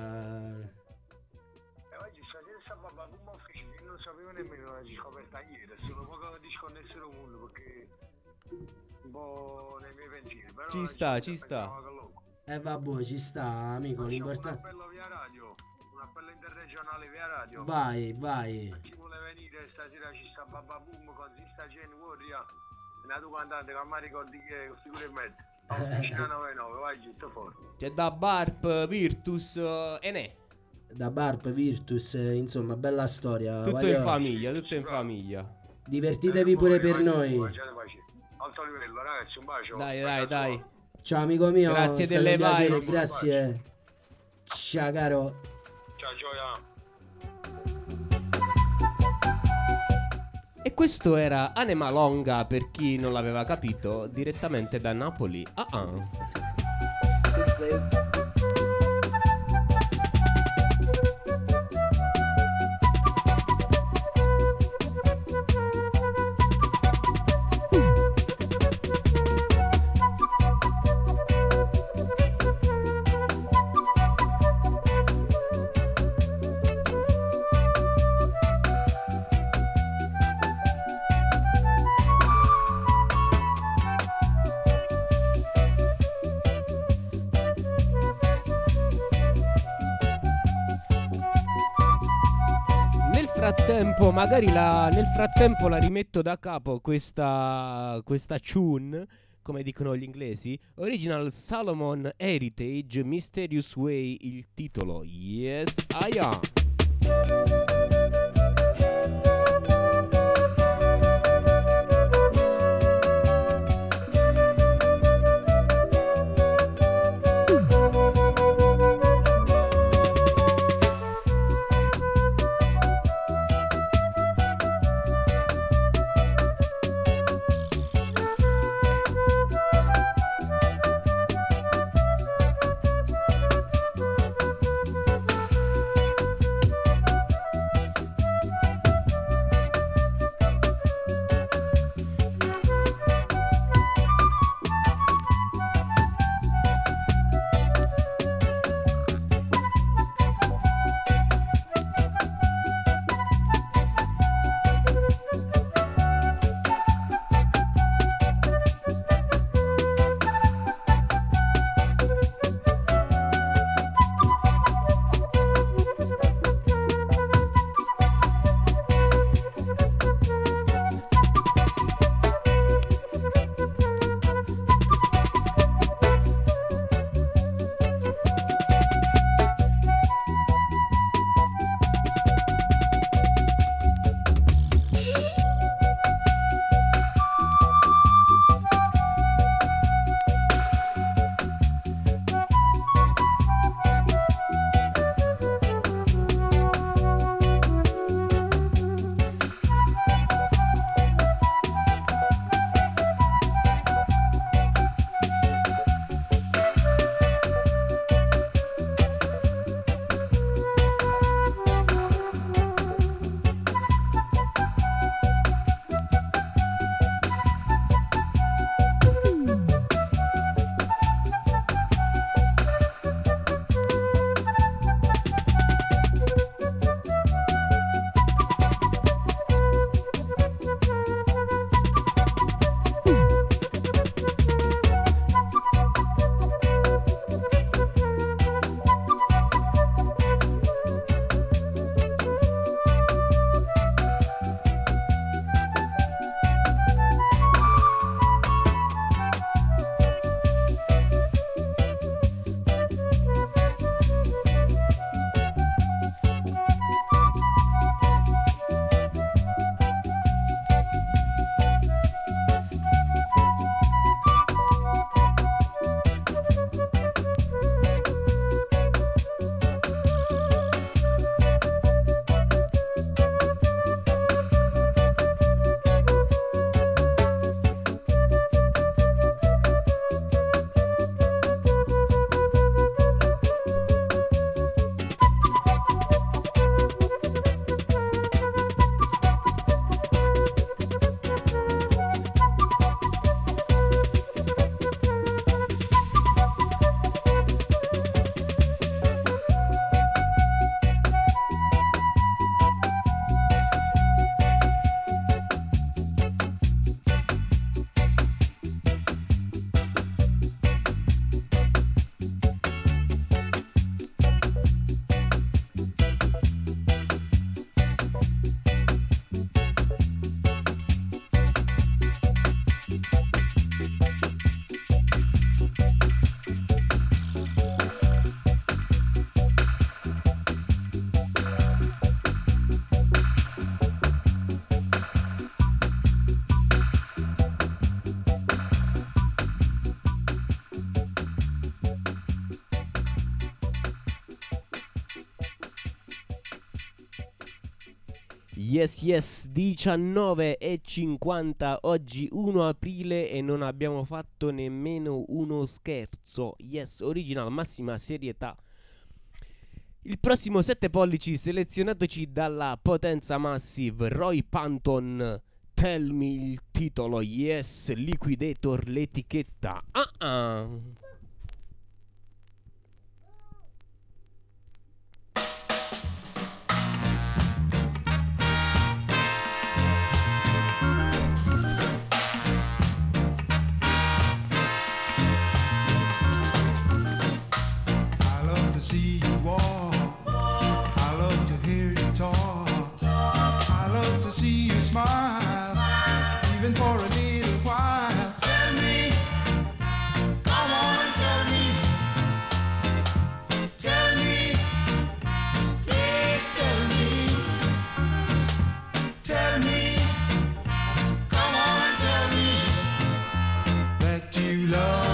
Oggi stasera sta babà come ufficio, io non sapevo nemmeno la scoperta ieri, sono un po' disconnesso dal mondo perché un po' nei miei pensieri, però Ci sta, ci sta. Eh vabbè, ci sta, amico, un l'importante. appello via radio, un appello interregionale via radio. Vai, vai. Chi vuole venire stasera ci sta Babba Boom con Zista Gen Warrior, è nato cantante che mi ricordi che è sicuro e mezzo. Officina novantanove, vai giusto fuori. C'è da Barp, Virtus eh, e ne. Da Barp, Virtus, eh, insomma, bella storia. Tutto voglio- in famiglia, tutto in famiglia. Divertitevi pure per noi. Alto livello, ragazzi, un bacio. Dai, dai, dai. Ciao amico mio, Grazie è stato delle un piacere, vibes. grazie. Ciao caro. Ciao Gioia. E questo era Anema Longa, per chi non l'aveva capito, direttamente da Napoli. Ah ah. Questo è- Nel frattempo, magari la, nel frattempo la rimetto da capo questa, questa tune, come dicono gli inglesi. Original Solomon Heritage, Mysterious Way, il titolo. Yes, I am. Yes, yes, diciannove e cinquanta, oggi primo aprile e non abbiamo fatto nemmeno uno scherzo. Yes, original, massima serietà. Il prossimo sette pollici selezionatoci dalla Potenza Massive, Roy Panton, Tell Me il titolo, yes, Liquidator l'etichetta. Ah ah. To see you walk, I love to hear you talk, I love to see you smile, even for a little while. Tell me, come on and tell me, tell me, please tell me, tell me, come on and tell me that you love.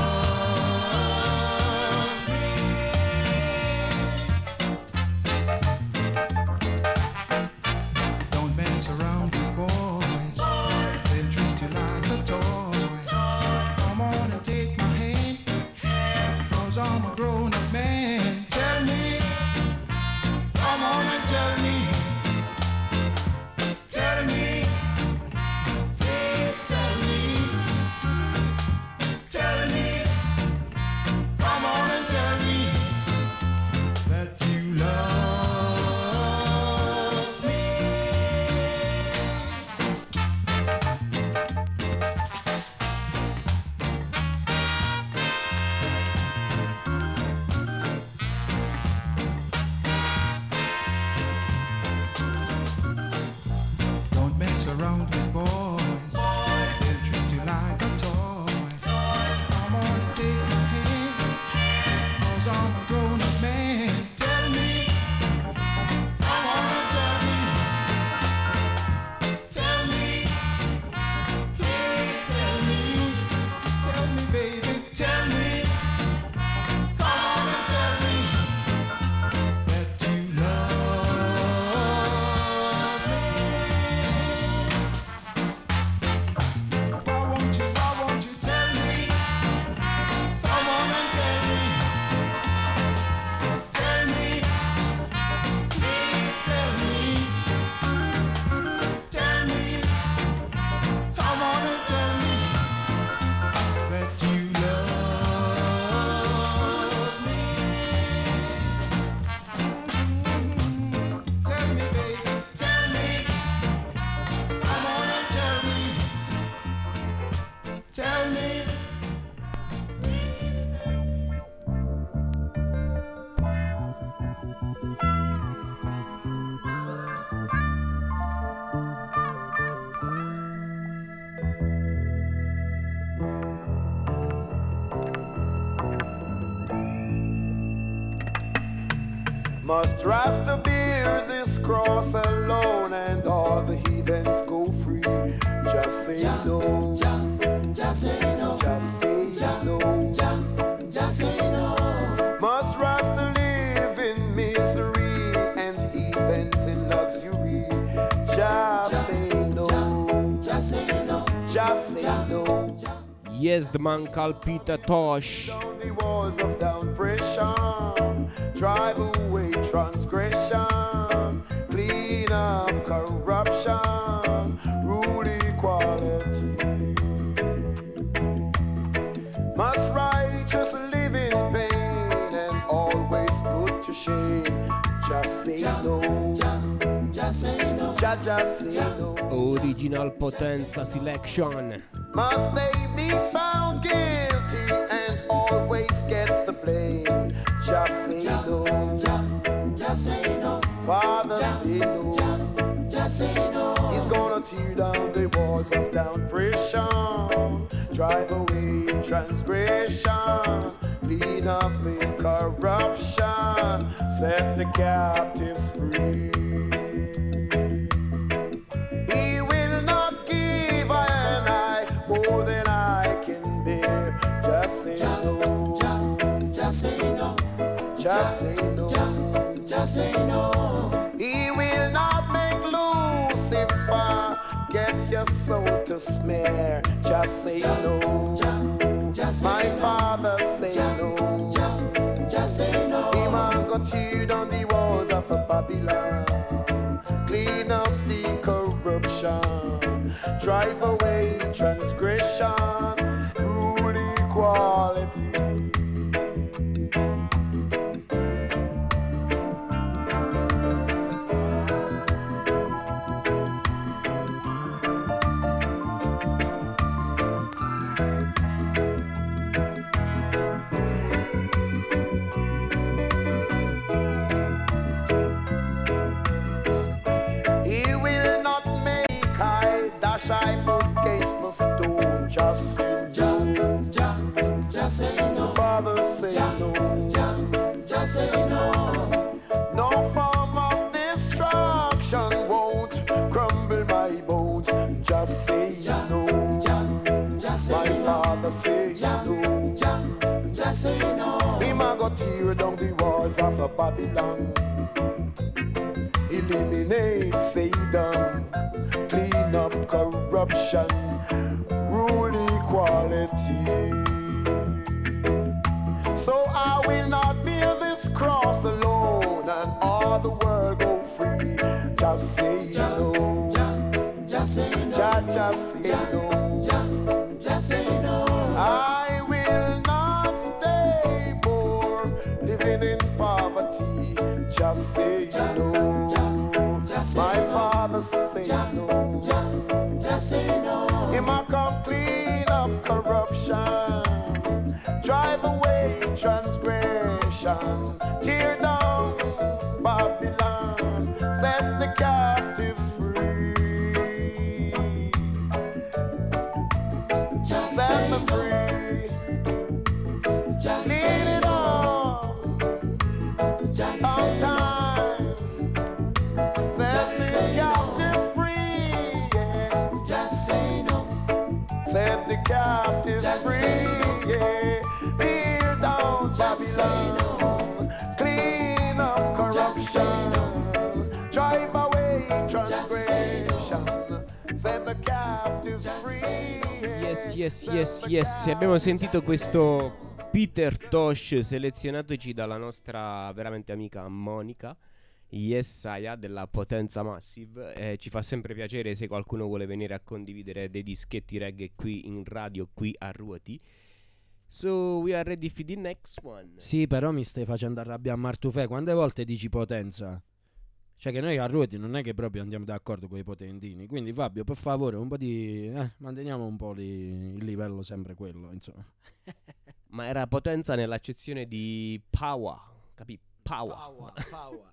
Around with boys, they'll treat you like a toy. Come on and take my hand, 'cause I'm a grown-up man. Tell me, come on and tell me, tell me, please tell me, tell me baby, tell me, come on and tell me that you love me. Must Rasta bear this cross alone and all the heathens go free? Just say Ja, no. ja, just say no. Just say Ja, no. ja, just say no. Must Rasta live in misery and heathens in luxury? Just say no. Just say no. Just say no. Yes, the man Kalpita Tosh. The walls of down pressure, drive away transgression, clean up corruption, rule equality. Must righteous live in pain and always put to shame. Just say no. Just say no. Just, just say no. Original Potenza Selection. Must they be found guilty and always get the blame? Just say no. Just say no. Father, say no. Just say no. He's gonna tear down the walls of down oppression, drive away transgression, clean up the corruption, set the captives free. He will not give I and I more than I can bear. Just say no. Just say no. Just say no. Just say no. He will not make loose your soul to smear. Just say no. My father say no. Just say no. Him a go tear down the walls of a Babylon. Clean up the corruption. Drive away transgression. Rule equality. Shy foot against the stone. Just say no. Just say no. Father say no. Just say no. No form of destruction won't crumble my bones. Just say no. My father say no. Just say no. Him a go tear down the walls of a Babylon. Eliminate Satan. Clean up corruption, rule equality. So I will not bear this cross alone, and all the world go free. Just say no. Just say no. Just say no. Just say no. I will not stay poor, living in poverty. Just say no. My father say no. Just say no. Him a come clean up corruption, drive away transgression, tear down Babylon, set the captives free. Just set them free. Just clean it up. Just say no. Set the captives free, yeah. Just say no. Set the captives just free, yeah. Tear down Babylon, clean up corruption, drive away transgression, set the captives free, yeah. Yes, yes, yes, yes. Abbiamo sentito questo Peter Tosh selezionatoci dalla nostra veramente amica Monica. Yesaya della Potenza Massive. Eh, ci fa sempre piacere se qualcuno vuole venire a condividere dei dischetti reggae qui in radio, qui a Ruoti. So we are ready for the next one. Sì, però mi stai facendo arrabbiare a Martufè. Quante volte dici potenza? Cioè che noi a Ruoti non è che proprio andiamo d'accordo con i potentini. Quindi Fabio, per favore, un po' di eh, manteniamo un po' li, il livello sempre quello, insomma. Ma era potenza nell'accezione di power, capì? Power. Power, power.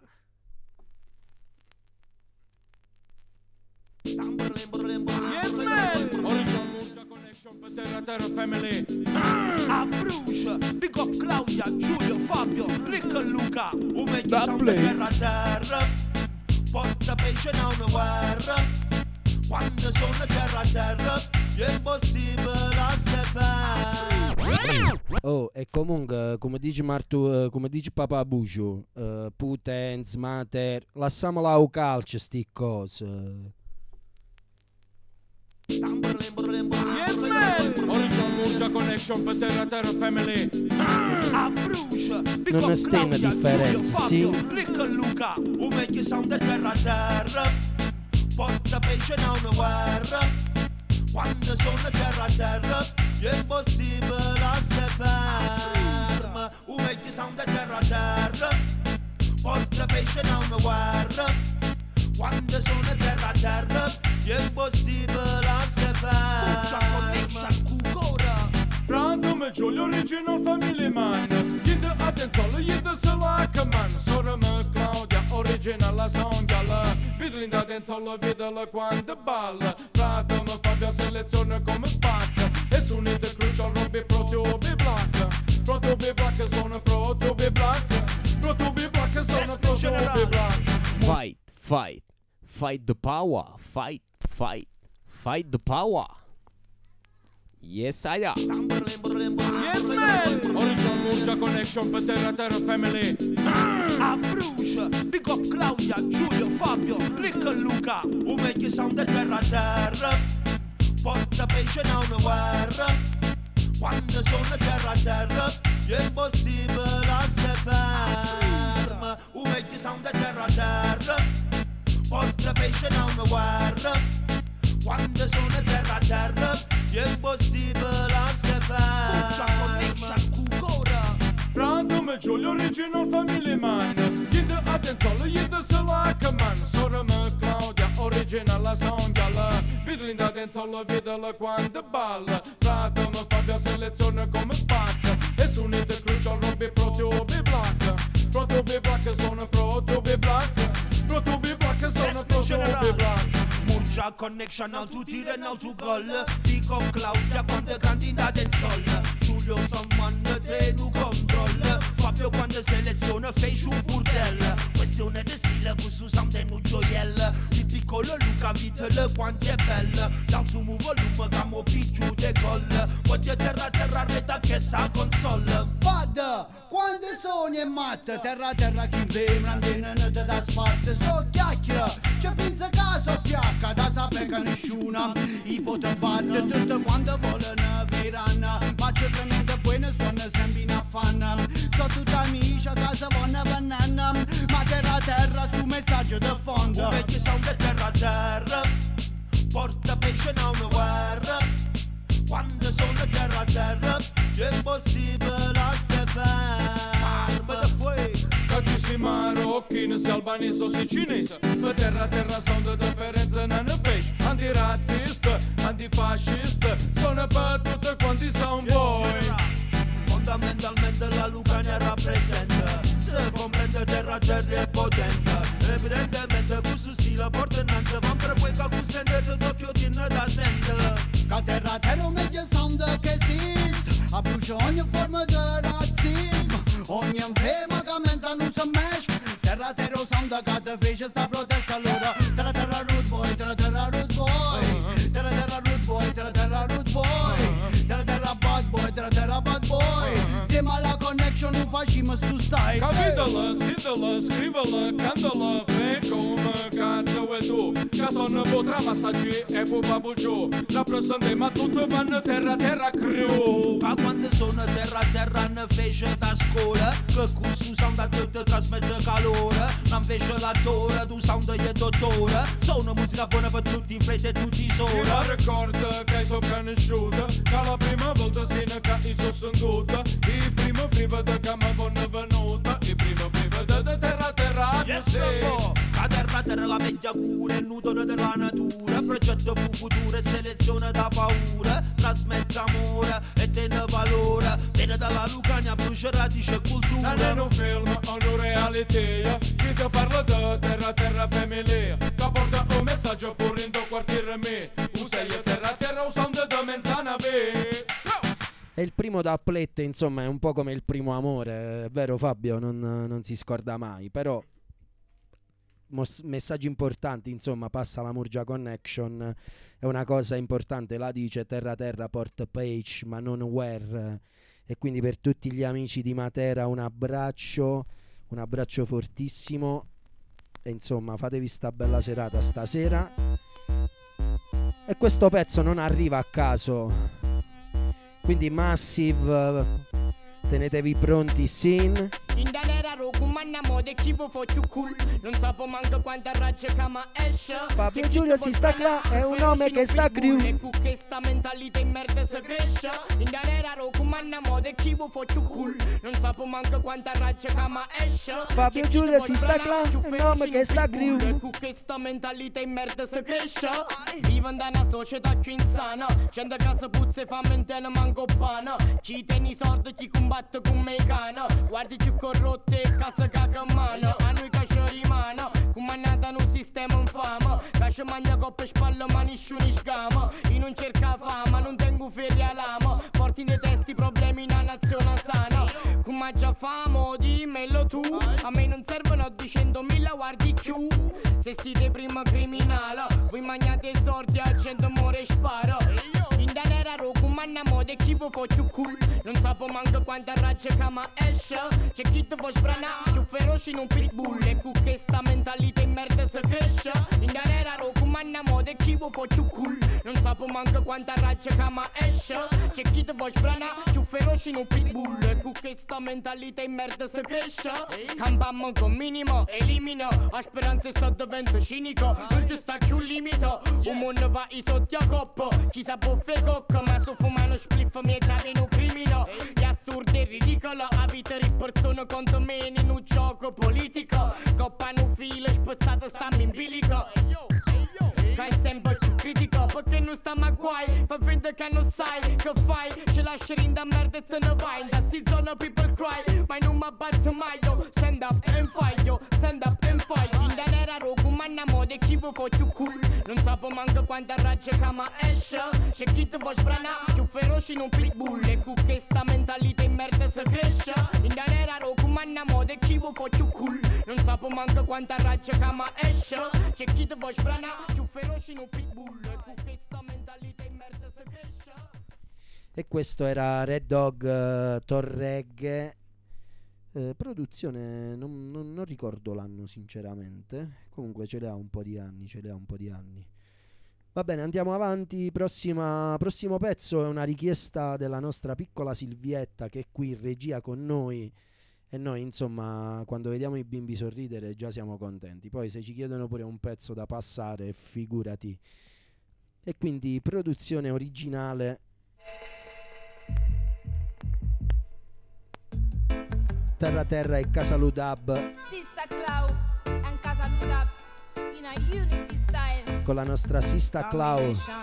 Yes, man! Original Mucha Connection per Terra Terra Family. A Bruce, big up Claudia, Giulio, Fabio, Little Luca. Un meglio sound da terra terra. Porta pesce da una guerra. Quando sono terra terra, è impossibile a stare. Oh, e comunque, come dice Martu, come dice Papà Buccio, uh, Putenz, Mater, lasciamola a calcio sti cose. Yes, man! Original Mucha Connection per Terra Terra Family. A Bruce, big non up è stena Claudia, differenza, Giulio, sì. Fabio, Little Luca. Un meglio sound da terra terra. Porta pesce da una guerra. Quando sono terra terra, è impossibile a stare ferma. Un meglio sound da terra terra. Porta pesce da una guerra. Quando sono terra terra, è impossibile a stare ferma. Franco me Giulio Original Family Man. Gli da attenzione, gli da salacca man. Sora me Claudia Original la songhia. Vidlin da attenzione, videla quando balla. Frate me Fabio selezione come spacca. E sunite crucial robbi pro tubi black. Pro tubi black sono pro tubi black. Pro tubi black sono pro tubi black. Fight, fight, fight the power. Fight, fight, fight the power. Yes, I am. Yes, man! Original Mucha Connection per Terra Terra Family. A Bruce, big up Claudia, Giulio, Fabio, Little Luca. Un meglio sound da terra terra. porta pesce da una guerra. Quando sono terra a terra, è impossibile a stare fermo. O meglio sono da terra a terra, porta pesce da una guerra. Quando sono terra a terra, è impossibile a stare fermo. Frate me Giulio original family man. Yinde Adenzolo, yinde Salaka man. Sora me Claudia original la songhia. Vidlinda Adenzolo, vedela quando balla. Frate me Fabio seleziona come spacca. E sunite crucial robe protobe black. Protobe black sono protobe black. Protobe black sono protobe black. Murgia connection al tu tiro e al tu gol. Dico Claudia quando candida del sol. Giulio Samman te nu control. Fabio quando seleziona fece un burdel. Questione di stile con Susan de nu gioiel. Il piccolo Luca Vitale quanto è bella. Dal suo volume camo picciu de gol. Voglio terra terra reta che sa console. Vada, quando sono in matta. Terra terra chi vem randene da sparte. So chiacchiera, c'è pensa caso fiacca. Da sapere che nessuno i pote batte. Tutto quando vogliono verranno. Ma c'è tremenda buona suona sempre in affanno. So tutti amici a casa vanno banana. Ma terra terra su messaggio da fondo. Come che sono da terra a terra, porta pesce da una guerra. Quando sono terra a terra, è impossibile a stare fermo. Da fuori Ci si marocchino, se albanese o se cinese. Per terra a terra sono di differenza non ne fece. Antirazzista, antifascista, sono per tutti quanti sono voi. Fondamentalmente la Lucania rappresenta. Se comprende terra a terra è potente. Evidentemente questo stile porta innanzi. Van per voi che vous sente tutto che tiene da sente. Che terra a terra meglio sound che esiste. A brucia ogni forma di razzismo. Ogni infema che mensa non si mesce. Terra a terra sound che te fece sta protesta allora. Terra terra root boy, terra terra root boy. Terra terra root boy, terra terra root boy. Terra terra bad boy, terra terra bad boy. Siamo alla connection non facciamo stu stai. Capitala, sitala, scrivala, cantala. Fai come cazzo vuoi tu. Che sono potrà ma staggi e pupa bulgiù. Rappresentiamo tutto vanno terra terra crew. Ma quando sono terra terra ne fece da scuola. Che questo sound a tutti trasmette calore. Non fece l'attore, tu sound e dottore. Sono musica buona per tutti in fretta e tutti i soli. Io ricordo che sono conosciuta. Che la prima volta si ne che sono sentita. Il primo prima da che mi vanno venuta. Il primo prima da terra terra. Yes, bravo. La terra terra la meglio cura. Il nudore della natura. Progetto per futuro. Selezione da paura. Trasmette amore e tiene valore. Viene dalla Lucania, brucia radice e cultura. Non è un film o una realtà. Ci ti parlo di terra terra famiglia. Che porta un messaggio pure in tuo quartiere me. Usai terra terra usando da menzana ve. E il primo da Plette, insomma, è un po' come il primo amore, è vero Fabio? Non, non si scorda mai, però mos- messaggi importanti, insomma, passa la Murgia Connection, è una cosa importante, la dice terra terra port page, ma non where, e quindi per tutti gli amici di Matera un abbraccio, un abbraccio fortissimo, e insomma fatevi sta bella serata stasera. E questo pezzo non arriva a caso. Quindi Massive, tenetevi pronti, Sin. In danera roku manna mode cibo faccio cool. Non sapo manco quanta razza cama esce. Fabio Giulio si sta qua, è un nome che sta crew. E con questa mentalità in merda si cresce. In danera roku manna mode cibo faccio cool. Non sapo manco quanta razza cama esce. Fabio Giulio si sta qua, è un nome che sta crew. E con questa mentalità in merda si cresce. Vivo da una società più insana. Gente che si puzza e fa mentena manco pana. Ci tieni sordi, chi combatte con me cana. Guardi più corrotte e casa caca mano. A noi che ci rimane comandata in un sistema infame. Che ci mangia coppe spalle ma nessuno scama. Io non cerca fama, non tengo ferie a lama. Porti nei testi problemi in una nazione sana. Come già famo, dimmelo tu. A me non servono duecentomila guardi più. Se siete prima criminale, voi mangiate sordi a cento muore e spara. In danera roku manna mode chi vi faccio cool. non sapo manco quanta razza che ma esce. C'è chi ti vuoi sbranare, più feroci in un pitbull. E con questa mentalità in merda si cresce. In galera ro comanda moda e chi vuoi fa più cool. Non sapo manco quanta razza che ma esce. C'è chi ti vuoi sbranare, più feroci in un pitbull. E con questa mentalità in merda si cresce. Campammo con minimo, elimino. A speranza sto divento cinico. Non ci sta più limite. Un mondo va i sotto a coppo. Chi sa buffe cocco, ma su fumano spliff mi sape in un crimino. È assurdo e ridicolo. A vita di persone contro me in un gioco politico. Coppano filo spazzata stammi in bilico. Che è sempre più critico perché non stiamo a guai. Fa finta che non sai che fai. Ci lasci in da merda e te ne vai. Da si zona people cry. Ma non mi batto mai yo. Stand up and fight yo. Stand up and fight. In da nera rogu manna moda e chi vuoi fa più cool. Non sapo manco quanta razza che ma esce. C'è chi ti vuoi sbranare più feroci in un pitbull. E con questa mentalità in merda si cresce. In da nera rogu manna moda e chi vuoi fa più cool. Non sapo manco quanta razza che ma esce. C'è chi ti vuoi sbranare più feroci. E questo era Red Dog uh, Torregge, uh, produzione non, non, non ricordo l'anno sinceramente, comunque ce le ha un po' di anni, ce le ha un po' di anni. Va bene, andiamo avanti. Prossima, prossimo pezzo è una richiesta della nostra piccola Silvietta che è qui in regia con noi. E noi insomma quando vediamo i bimbi sorridere già siamo contenti. Poi se ci chiedono pure un pezzo da passare, figurati. E quindi produzione originale Terra Terra e Casaludab Sister Cloud and Casaludab in a unity style. con la nostra Sista Clau.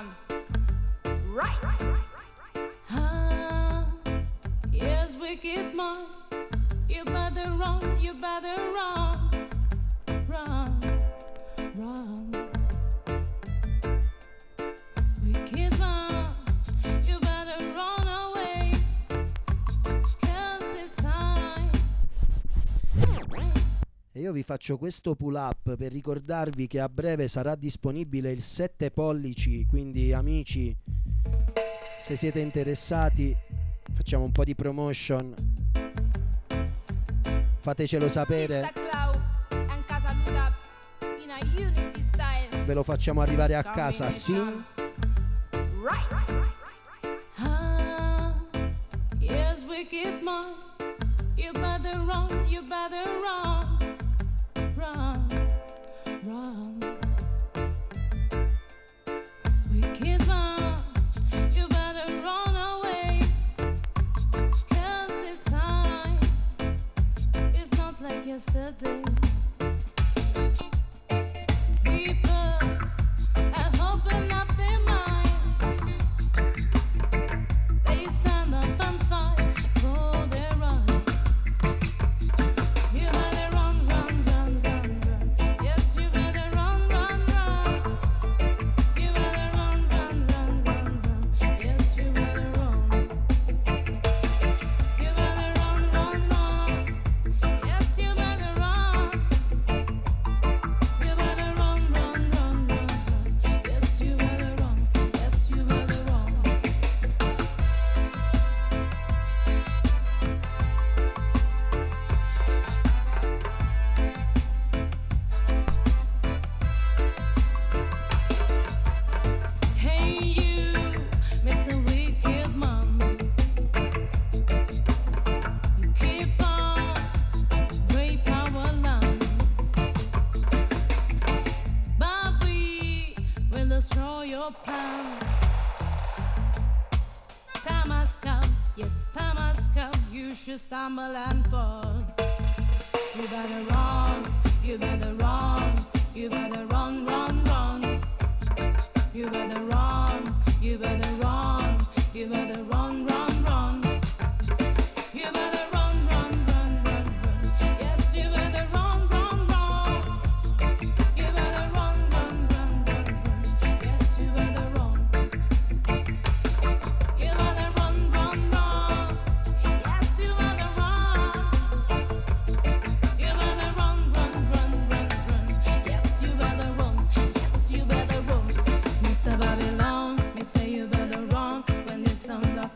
Right. Ah, yes, wicked man. You better run, you better run, run, run. Wicked man, you better run away, 'cause this time. E io vi faccio questo pull up per ricordarvi che a breve sarà disponibile il sette pollici, quindi amici, se siete interessati facciamo un po' di promotion. Fatecelo sapere, ve lo facciamo arrivare a casa, sì. Ah, yes, wicked man, you better run, you better run, run, run. Wicked man, you better run away, 'cause this time it's not like yesterday. People have opened up their minds. They stand up and fight for their rights. You better run, run, run, run, run. Yes, you better run, run, run. You better run, run, run, run, run. Yes, you better run. You better run, run, run. Yes, you better run. You better run, run, run, run, run. Yes, you better run. Yes, you better run. Hey you, Mister Wicked Man, you keep on rape our land, but we will destroy your plan. Time has come, yes, time has come. You should stumble and fall. You better run, you better run, you better run, run, run. You better run, you better run, you better run, run, run. You better run, run, run, run, run. Yes, you better run, run, run. You better run, run, run, run, run. Yes, you better run. You better run, run, run. Yes, you better run. You better run, run, run, run, run. Yes, you better run. Yes, you better run. Mister Babylon, me say you better run when the sun up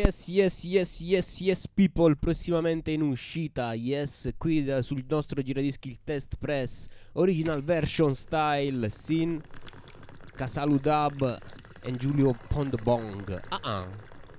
Yes, yes, yes, yes, yes, people. Prossimamente in uscita. Yes, qui da- sul nostro giradischi il test press original version style Sin Casalu Dub e Giulio Pondbong. Ah ah.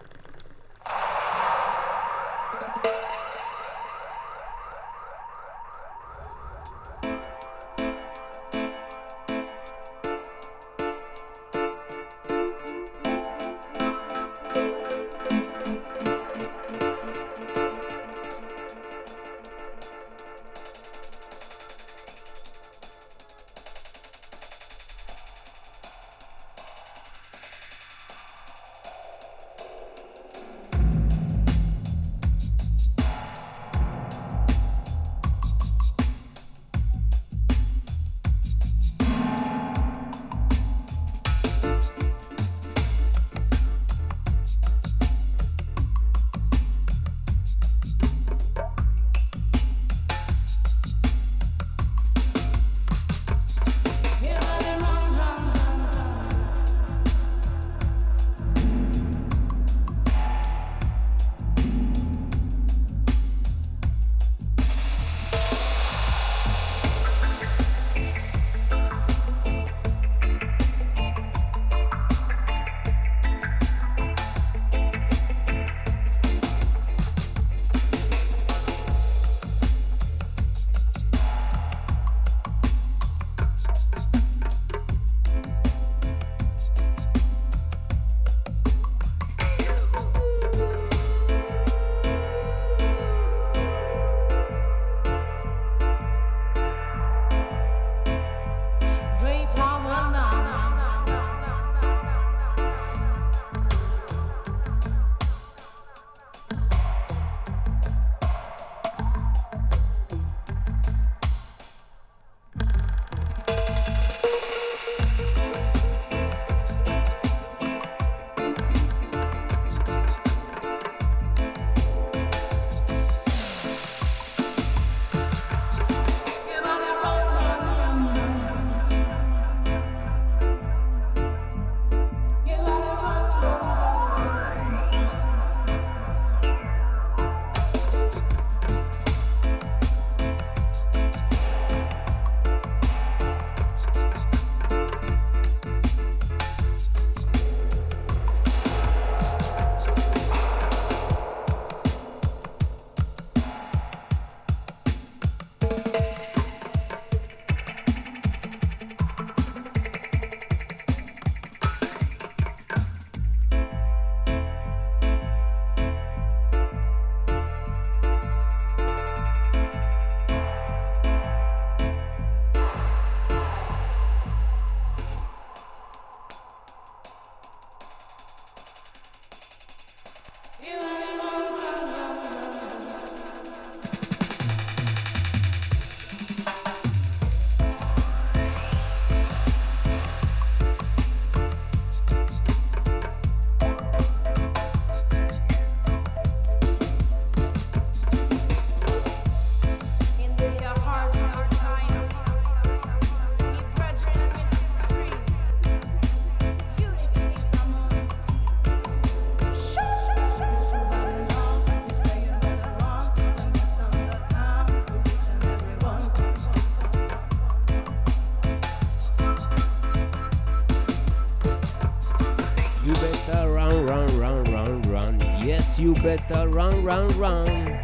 You better run, run, run.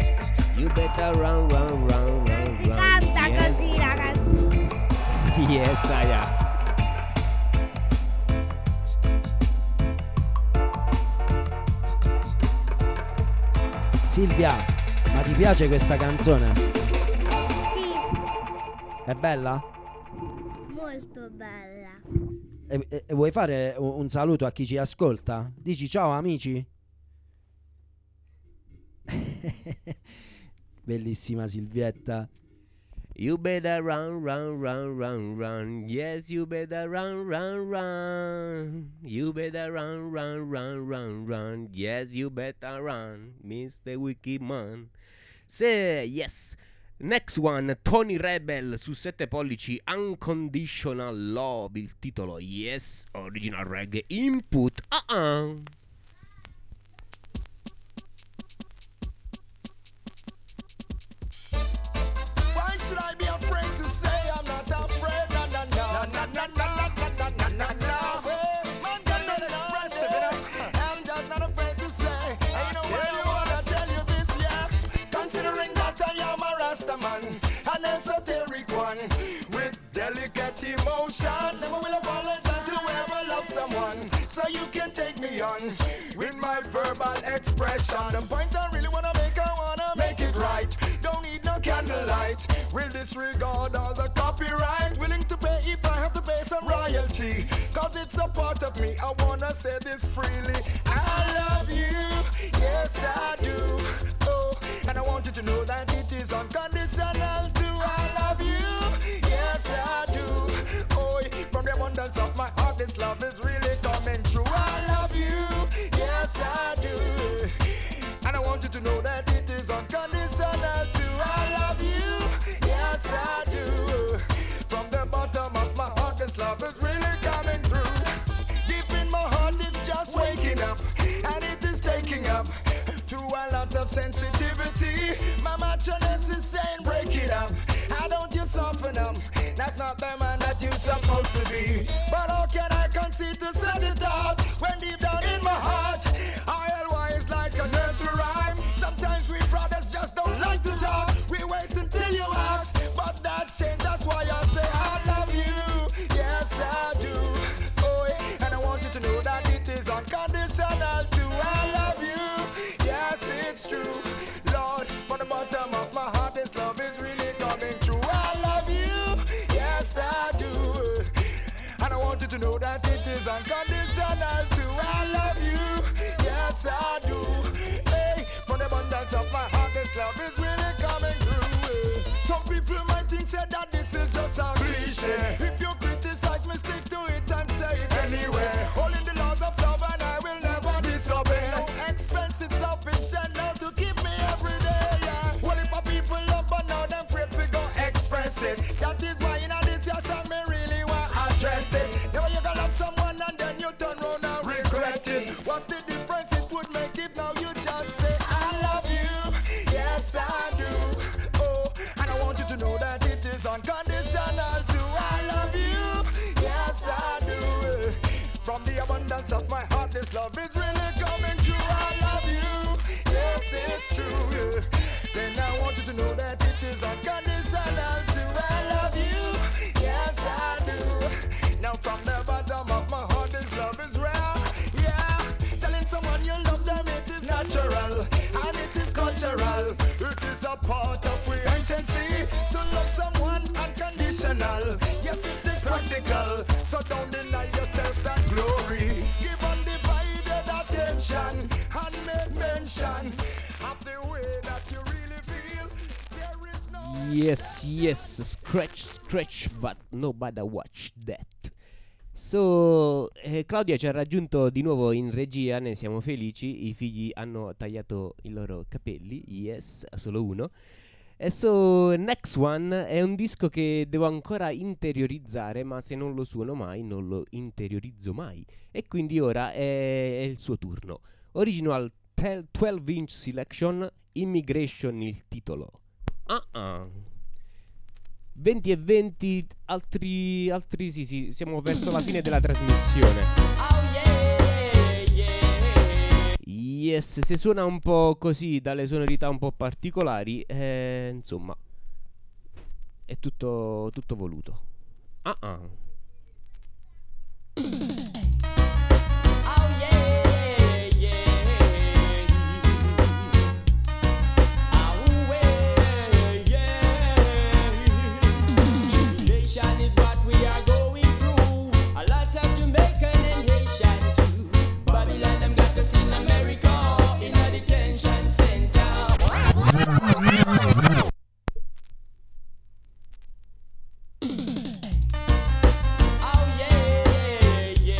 You better run, run, run, run, Si run. canta Yes. così, ragazzi. Yes, I am. Silvia, ma ti piace questa canzone? Sì, È bella? molto bella. E, e- e vuoi fare un, un saluto a chi ci ascolta? Dici ciao amici? Bellissima Silvietta. You better run, run, run, run, run. Yes, you better run, run, run. You better run, run, run, run, run. Yes, you better run, mister Wicked Man. Say yes. Next one, Tony Rebel su sette pollici, Unconditional Love, il titolo Yes, Original Reggae Input. Ah ah. want with my verbal expression. The point I really wanna make, I wanna make it right. Don't need no candlelight. Will disregard all the copyright. Willing to pay if I have to pay some royalty. Cause it's a part of me, I wanna say this freely. I love you, yes I do. Oh, and I want you to know that it is unconditional too. I love you, yes I do. Oh, from the abundance of my heart, this love is really coming true. I love you, yes I do. And I want you to know that it is unconditional too. I love you, yes I do. From the bottom of my heart, this love is really coming through. Deep in my heart, it's just waking up, and it is taking up to a lot of sensitivity. My macho-ness is saying break it up. How don't you soften up? That's not the man that you're supposed to be. But how can I concede to set it up when deep down in my heart I L is like a nursery rhyme. Sometimes we brothers just don't like to talk. We wait until you ask, but that change, that's why I say I love you, yes I do. Oh, and I want you to know that it is unconditional too. I love you, yes it's true. Lord, from the bottom of my heart, this love is really coming true. I love you, yes I do. And I want you to know that it is unconditional too. I love you, yes I do. Hey, from the abundance of my heart, this love is really coming through. Some people might think say that this is just a cliche. If you criticize me, stick to it and say it anyway. All in the laws of love and I will never disobey. No expense, it's sufficient now to keep me every day, yeah. Well, if my people love but now them afraid we go express it. That is why in this your song me really want address it. Now you gonna love someone and then you turn round and regret it. What's the difference it would make if now you just say I love you, yes I do. Oh, and I want you to know that it is unconditional too. I love you, yes I do. From the abundance of my heart, this love is really coming true. I love you, yes it's true. Then I want you to know that it is unconditional too. I love you, yes I do. Now from the bottom of my heart, this love is real. Yeah, telling someone you love them, it is natural and it is cultural. It is a part of we anciency to love someone unconditional. Yes, it is practical, so don't deny yourself that glory. Give undivided attention and make mention of the way that you really feel. There is no Yes, yes, scratch, scratch, but nobody watch that. So, eh, Claudia ci ha raggiunto di nuovo in regia, ne siamo felici. I figli hanno tagliato i loro capelli, yes, solo uno. E so, Next One è un disco che devo ancora interiorizzare, ma se non lo suono mai, non lo interiorizzo mai. E quindi ora è, è il suo turno. Original twelve inch Selection, Immigration il titolo. Uh-uh. venti e venti, altri, altri sì sì, siamo verso la fine della trasmissione. Yes, se suona un po' così, dalle sonorità un po' particolari, eh, insomma, è tutto, tutto voluto. Uh-uh. Is what we are going through. A lot of Jamaican and Haitian too. Babylon them got us in America in a detention center. Oh yeah, yeah.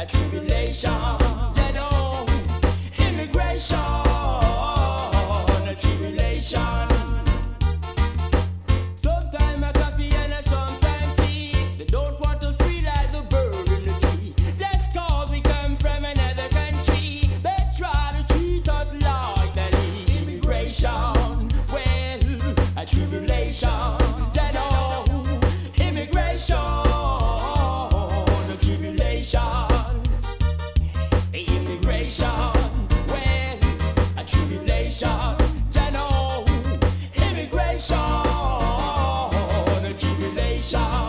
a tribulation. You know, immigration, a tribulation. Sometimes a coffee and a sometimes tea. They don't want to feel like the bird in the tree. Just cause we come from another country, they try to treat us like that. Immigration, well, a tribulation. You know, immigration, a tribulation. Immigration, well, a tribulation. You know, immigration, a tribulation.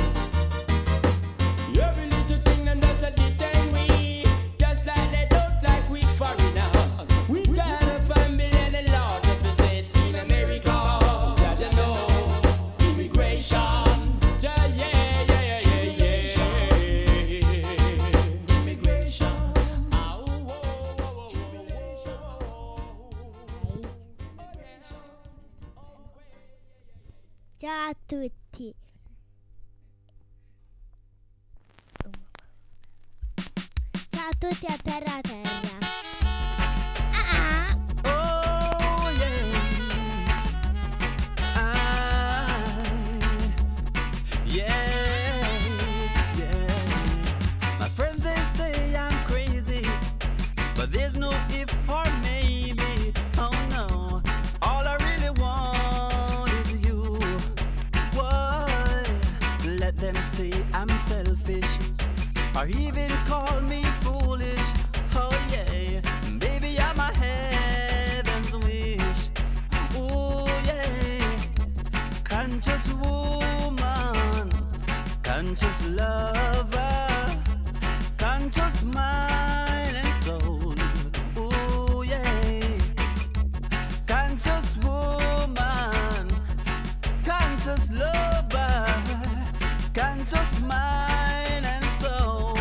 Every little thing them does a detain we, just like they don't like we foreigners. We got a family and a lot of visits in America. Yeah, you know, immigration. Yeah, yeah, yeah, yeah, yeah, yeah. Immigration. Ah, oh, oh, oh, oh, Ciao a tutti. Ciao a tutti a terra terra. Ah, Oh yeah, I, yeah, yeah. My friends they say I'm crazy, but there's no if or maybe. Oh no, all I really want is you. Why? Let them say I'm selfish, or even call me foolish. Oh yeah, baby you're my heaven's wish. Oh yeah, conscious woman, conscious lover, conscious mind and soul. Oh yeah, conscious woman, conscious lover, conscious mind and soul.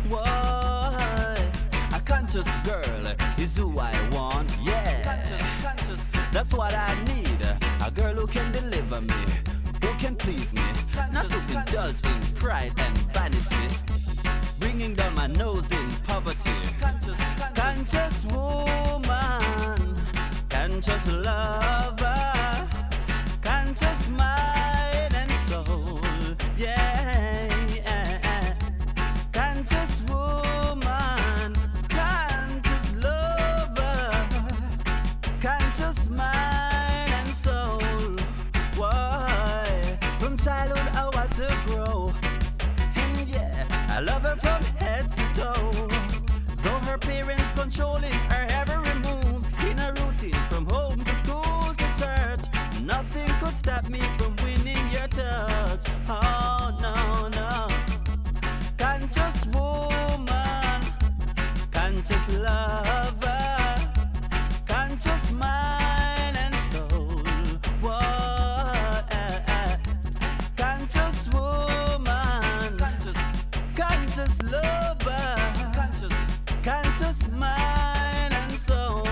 Why? A conscious girl is who I want. Yeah, conscious, conscious. That's what I need. A girl who can deliver me, who can please me, not to indulge in pride and vanity, bringing down my nose in poverty. Conscious, conscious woman, conscious lover, conscious mind and soul. Yeah, conscious woman, conscious lover, conscious mind and soul. Why? From childhood I watch her grow, and yeah, I love her from head to toe. Though her parents controlling her every move, in a routine from home to school to church, nothing could stop me from winning your touch. Oh no, no. Conscious woman, conscious lover, conscious mind and soul. Whoa, eh, eh. Conscious woman, conscious, conscious lover, conscious, conscious mind and soul.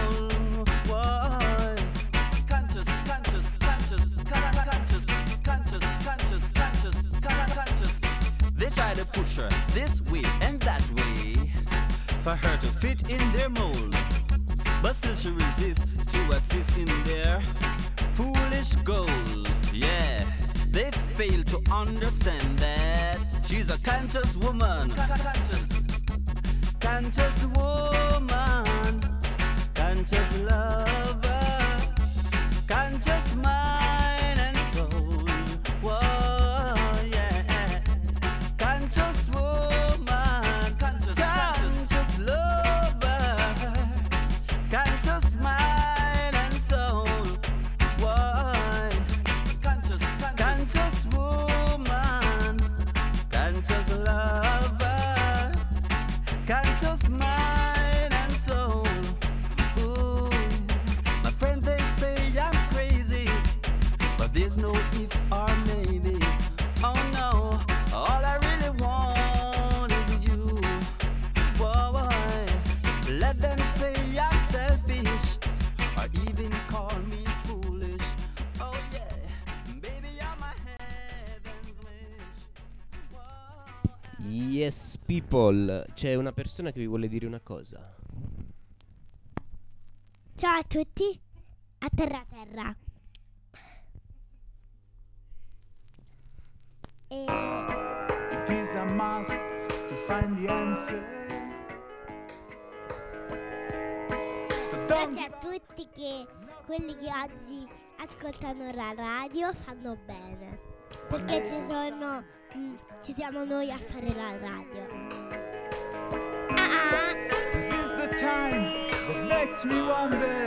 Whoa, conscious, conscious, conscious, conscious, conscious, conscious, conscious, conscious. They try to push her this way and that way for her to fit in their mold, but still she resists to assist in their foolish goal. Yeah, they fail to understand that she's a conscious woman, conscious, conscious woman, conscious lover, conscious mind and soul. Whoa, yeah, conscious woman, conscious, conscious lover, conscious mind and soul. Why? Conscious, conscious woman, conscious lover, conscious mind and soul. Ooh. My friends they say I'm crazy, but there's no if or maybe. Oh no, all I really want is you. Whoa, whoa. Let them say I'm selfish, or even call me foolish. Oh yeah, baby you're my heaven's wish. Yes people, c'è una persona che vi vuole dire una cosa. Ciao a tutti, a terra terra. E... It is a must to find the answer. So don't Grazie a tutti che quelli che oggi ascoltano la radio fanno bene. Perché ci sono mm, ci siamo noi a fare la radio. Ah ah. This is the time that makes me wonder.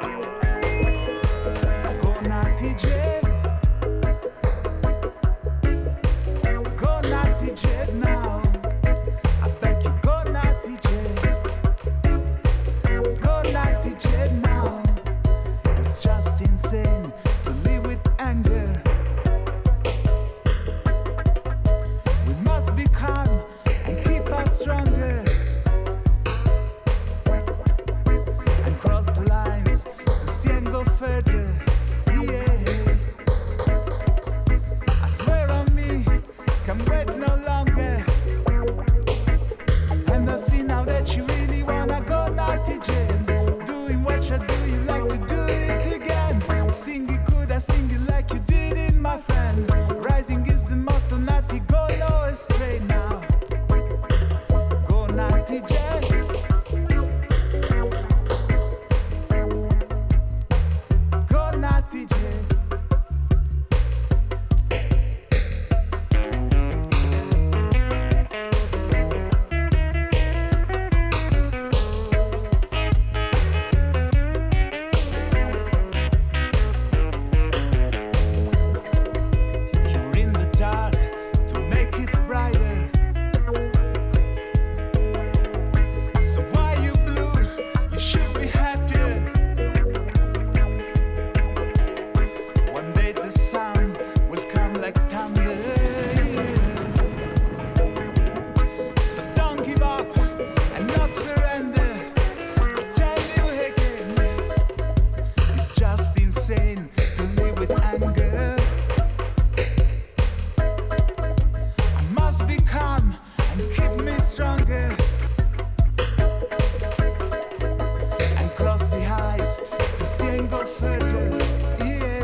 Go Natty J. Go Natty J now. I beg you, go Natty J. Go Natty J now. It's just insane to live with anger. We must be calm and keep us stronger. And cross the lines to see and go further. Yeah. I swear on me, can't wait no longer. And I see now that you really wanna go Natty Jane. Doing what you do, you like to do it again. Sing it good, I sing it like you did it, my friend. Rising is the motto, Natty, go low and straight now. Go Natty Jane. Go Natty Jane. You're in the dark to make it brighter. So why you blue? You should be happier. One day the sun will come like thunder. So don't give up and not surrender. I tell you again, it's just insane to live with anger. I must be calm and keep me stronger. And cross the eyes to see and go further. Yeah.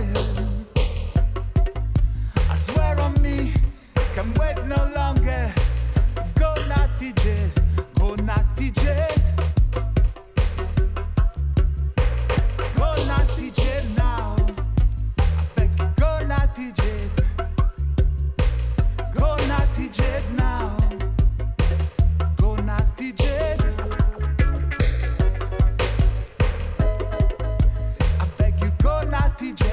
I swear on me, can't wait no longer. Go Natty J, go Natty J. Go Natty J now. I beg you, go Natty J. Go Natty J now. Go Natty J. I beg you, go Natty J.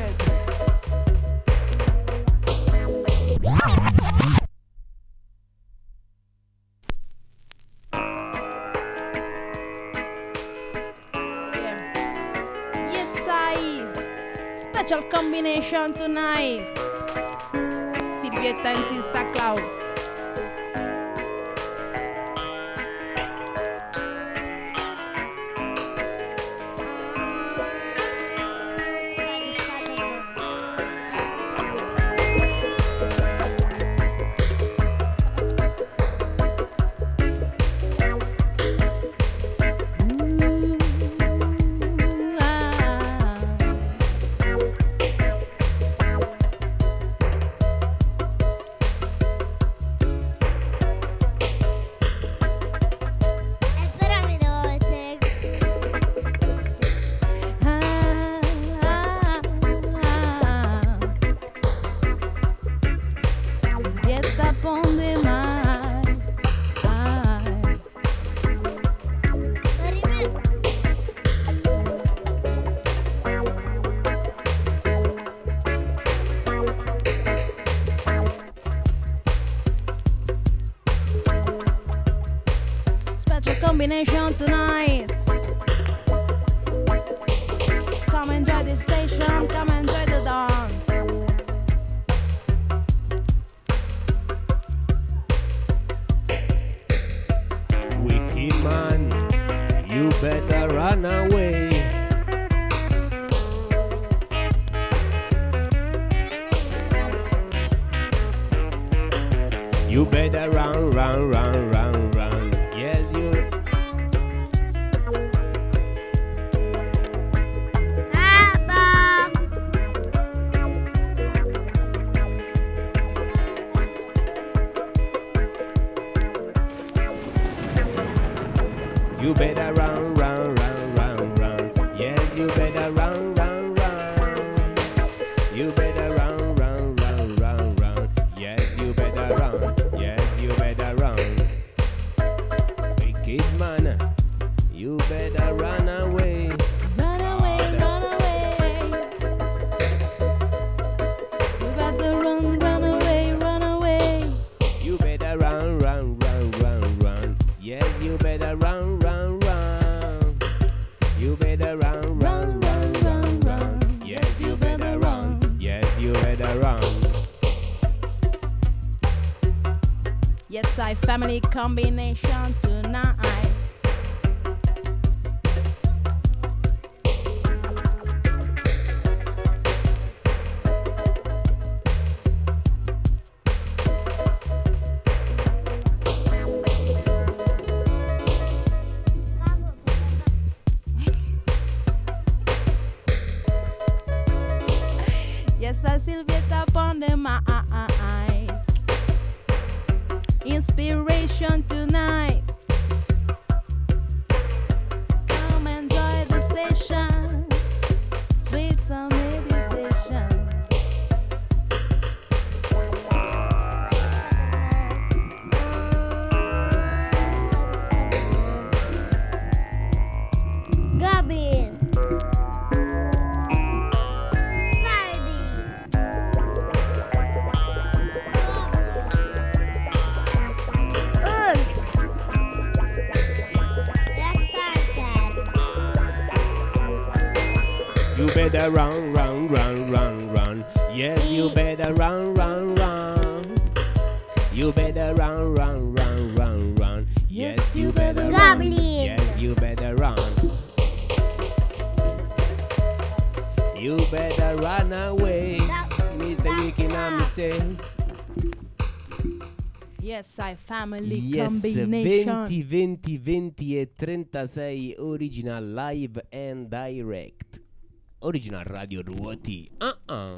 Yes, I. Special combination tonight. Silvietta insista Cloud. E però mi dovete... Silvietta ponde mai. Ai. Special combination tonight. Come enjoy the station, come enjoy the dance. Wicked man, you better run away. You better run, run run, run, run, run. Yes, you. You better run, run, run, run, run. Yes, you better run, run, run. You better run, run, run, run, run. Yes, you better run. Yes, you better run. Wicked man, you better run away. Run away, run away. You better run, run away, run away. You better run, run, run, run, run. Yes, you better run, run, run. You better run, run, run, run, run. Yes, you better run. Yes, you better run. Yes, I family combination tonight. Yes, I Silvietta upon the mic. Inspiration tonight. Come enjoy the session. Sweet some meditation. Gabi. You better run, run, run, run, run. Yes, you better run, run, run. You better run, run, run, run, run. Yes, you better run. Goblin. Yes, you better run. You better run away, Mister Wiki Nami say. Yes, I family Yes, combination. venti, venti, venti e trentasei original live and direct. Original Radio Ruoti. Uh-uh.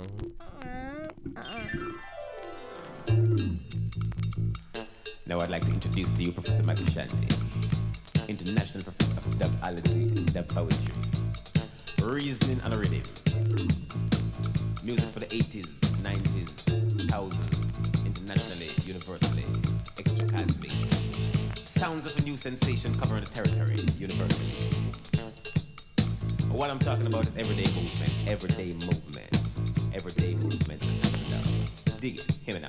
Now I'd like to introduce to you Professor Matty Shandy, International Professor of Dubology and Dub Poetry, Reasoning and Rhythm, music for the eighties, nineties, thousands, internationally, universally, extra-cosmic, sounds of a new sensation covering the territory, universally. What I'm talking about is everyday movement, everyday movement, everyday movement. Dig it, hear me now.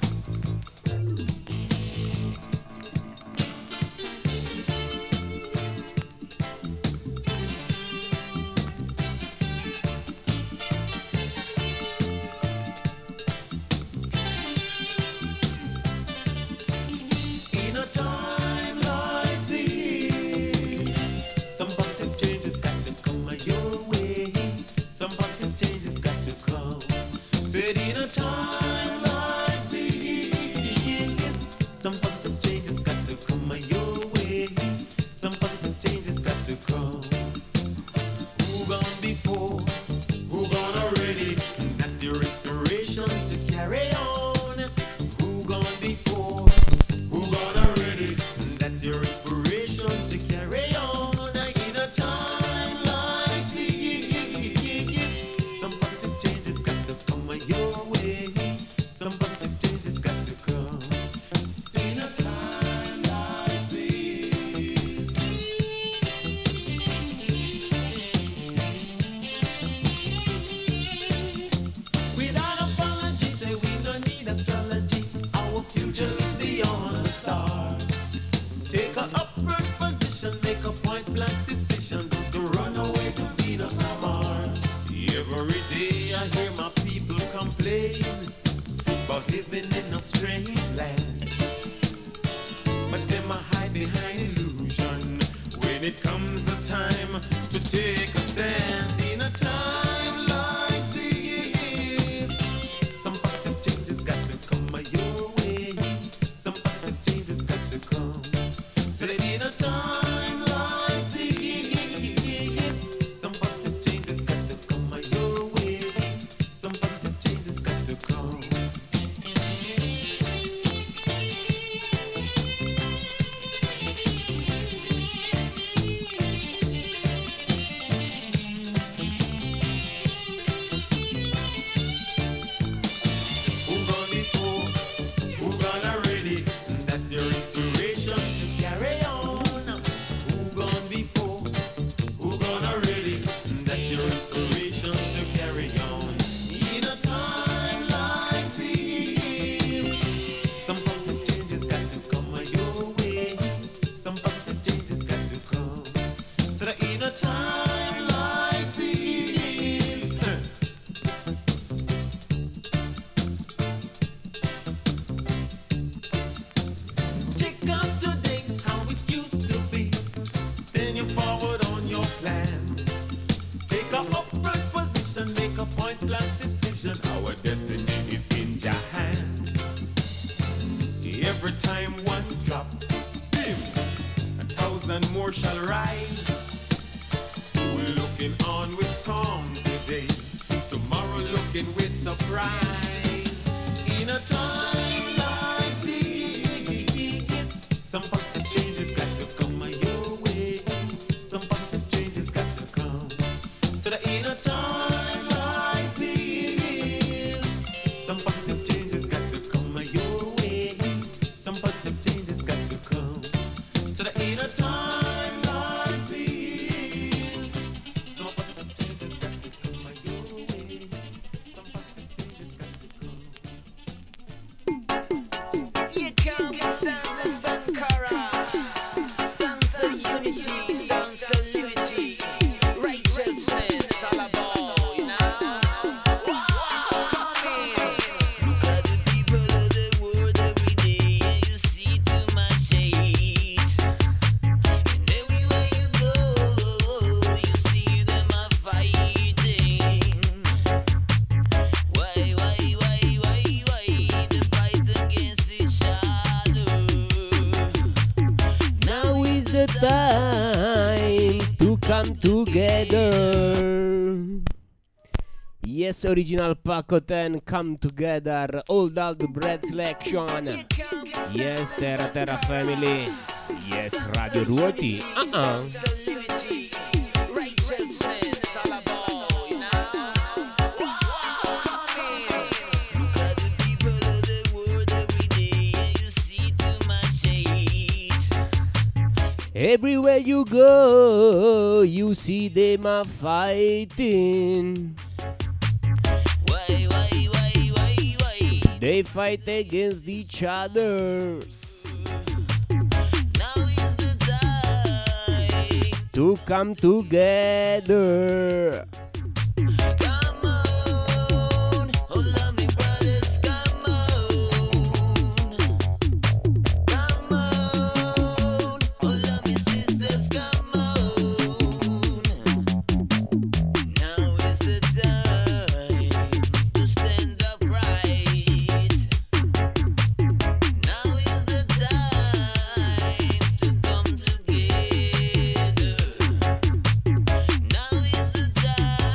In a time like this, some positive changes got to come your way. Some positive changes got to come. Said in a time like this, some positive changes got to come your way. Some positive changes got to come. Who gone before? Who gone already? That's your inspiration to carry on. Who gone before? Who gone already? That's your inspiration to carry on. In a time like this, some positive changes got to come your way. Some positive changes got to come. In a time like this. Without apology, say we don't need astrology. Our future is beyond the stars. Take a upward position, make a point blank decision. Don't run away to Venus or Mars. Every day I hear my people complain about living in a strange land. But them a hide behind illusion when it comes a time to take a stand. In a time like this, some positive changes got to come your way. Some positive changes got to come. So that in a time like this, some positive changes got to come your way. Some positive changes got to come. Yes, original Paco ten, come together, hold all the bread selection. Yes, Terra Terra family. Yes, Radio Ruoti. Uh-uh. Everywhere you go, you see them a fighting. They fight against each other. Now is the time to come together. Come on, oh love me brothers, come on. Come on, oh love me sisters, come on. Now is the time to stand up right. Now is the time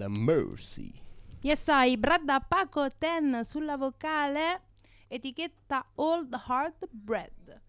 Lord Mercy. Yes, I, Bradda Paco ten sulla vocale, etichetta Old Heart Bread.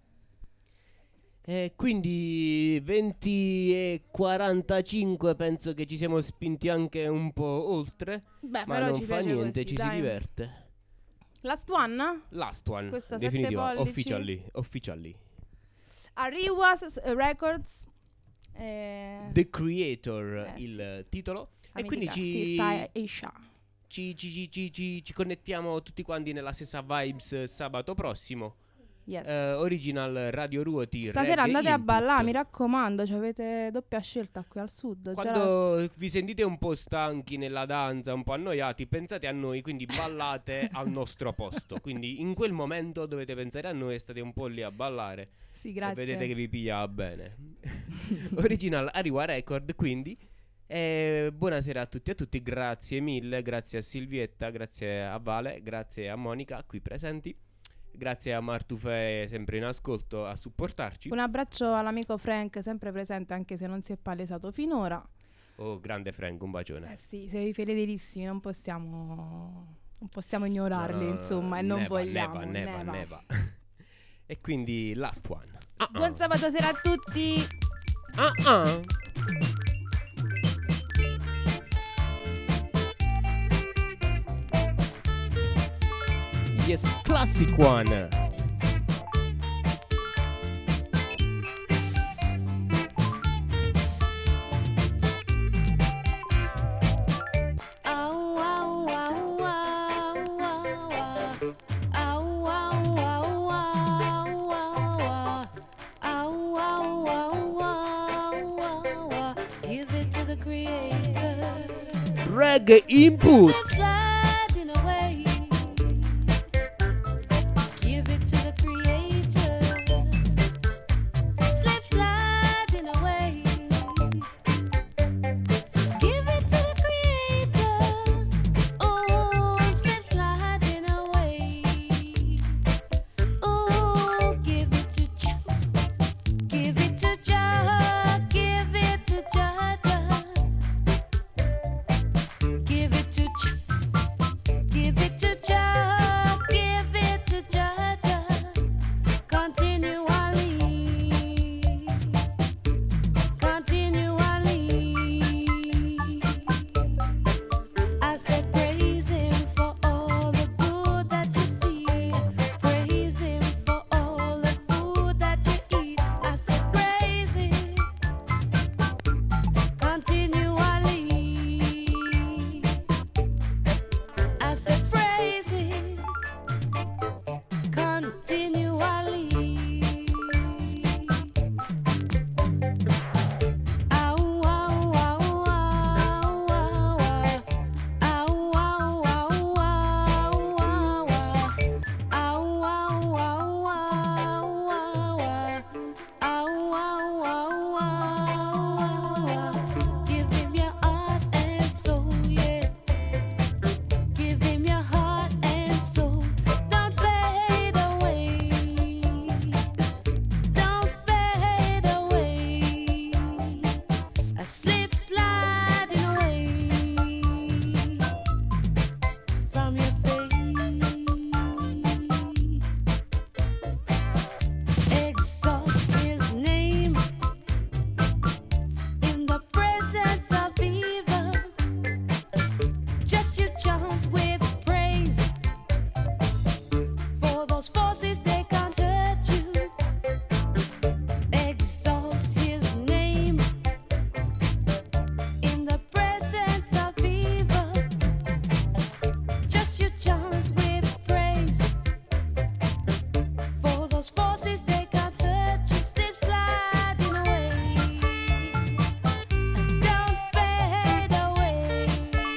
E quindi venti e quarantacinque, penso che ci siamo spinti anche un po' oltre. Beh, ma però non ci fa piace niente, così, ci dai. si diverte. Last one? Last one, Questa sette definitiva, pollici. officially, officially. Ariwas Records. eh, The Creator, Eh, il titolo. la E quindi mitica ci, Sista Aisha. ci, ci, ci, ci, ci, ci connettiamo tutti quanti nella stessa vibes sabato prossimo. Yes. Eh, original Radio Ruoti. Stasera Reggae andate a Input. ballare, mi raccomando, cioè avete doppia scelta qui al sud. già la- Quando vi sentite un po' stanchi nella danza, un po' annoiati, pensate a noi, quindi ballate al nostro posto. Quindi in quel momento dovete pensare a noi e state un po' lì a ballare. Sì, grazie. E vedete che vi piglia bene. Original Ariwa Record, quindi. E buonasera a tutti e a tutti, grazie mille, grazie a Silvietta, grazie a Vale, grazie a Monica qui presenti. Grazie a Martufe sempre in ascolto a supportarci. Un abbraccio all'amico Frank, sempre presente anche se non si è palesato finora. Oh, grande Frank, un bacione. Eh sì, sei fedelissimi, non possiamo non possiamo ignorarli, No, no, insomma, e non neva, vogliamo. Neva, neva, neva. neva. E quindi last one. Ah, Buon ah. sabato sera a tutti. Ah, ah. Yes, classic one. Give it to the creator. Reggae Input. Sliding away. Give it to the creator. Slip sliding away. Give it to the creator. Oh, slip sliding away. Oh, give it to Jah. Give it to Jah. Give it to Jah. Jah. Give it to Jah. Give it to Jah. Give it to Jah. Jah. Continually. Continually. I said praise him for all the good that you see. Praise him for all the food that you eat. I said praise him continually. I said praise him continually. Ow, ow, ow, ow, ow, ow. Ow, ow, ow, ow, ow, ow. Ow, ow, ow, ow, ow, ow. Ow, ow, ow, ow, ow. Give him your heart and soul, yeah. Give him your heart and soul. Don't fade away. Don't fade away. I slip sliding away from your face. Exalt his name in the presence of evil. Just you chant with praise. For those forces, they can't hurt you. Exalt his name in the presence of evil. Just you chant with praise. For those forces, they can't hurt you. Slip sliding away. Don't fade away.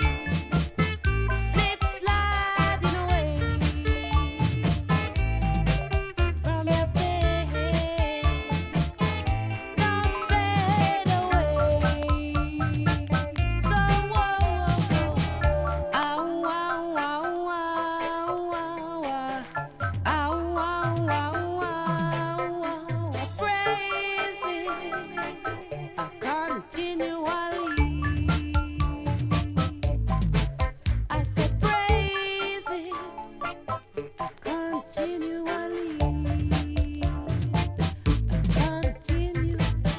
Slip sliding away. continually. Continually.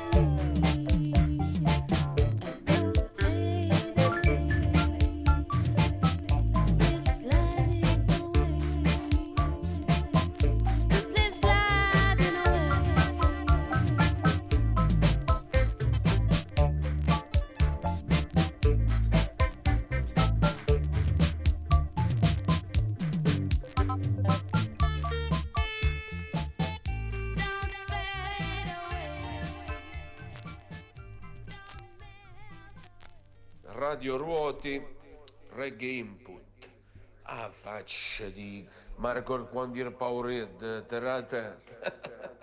Radio Ruoti, Reggae Input. Ah, faccia di Marco quando era paura, terrate.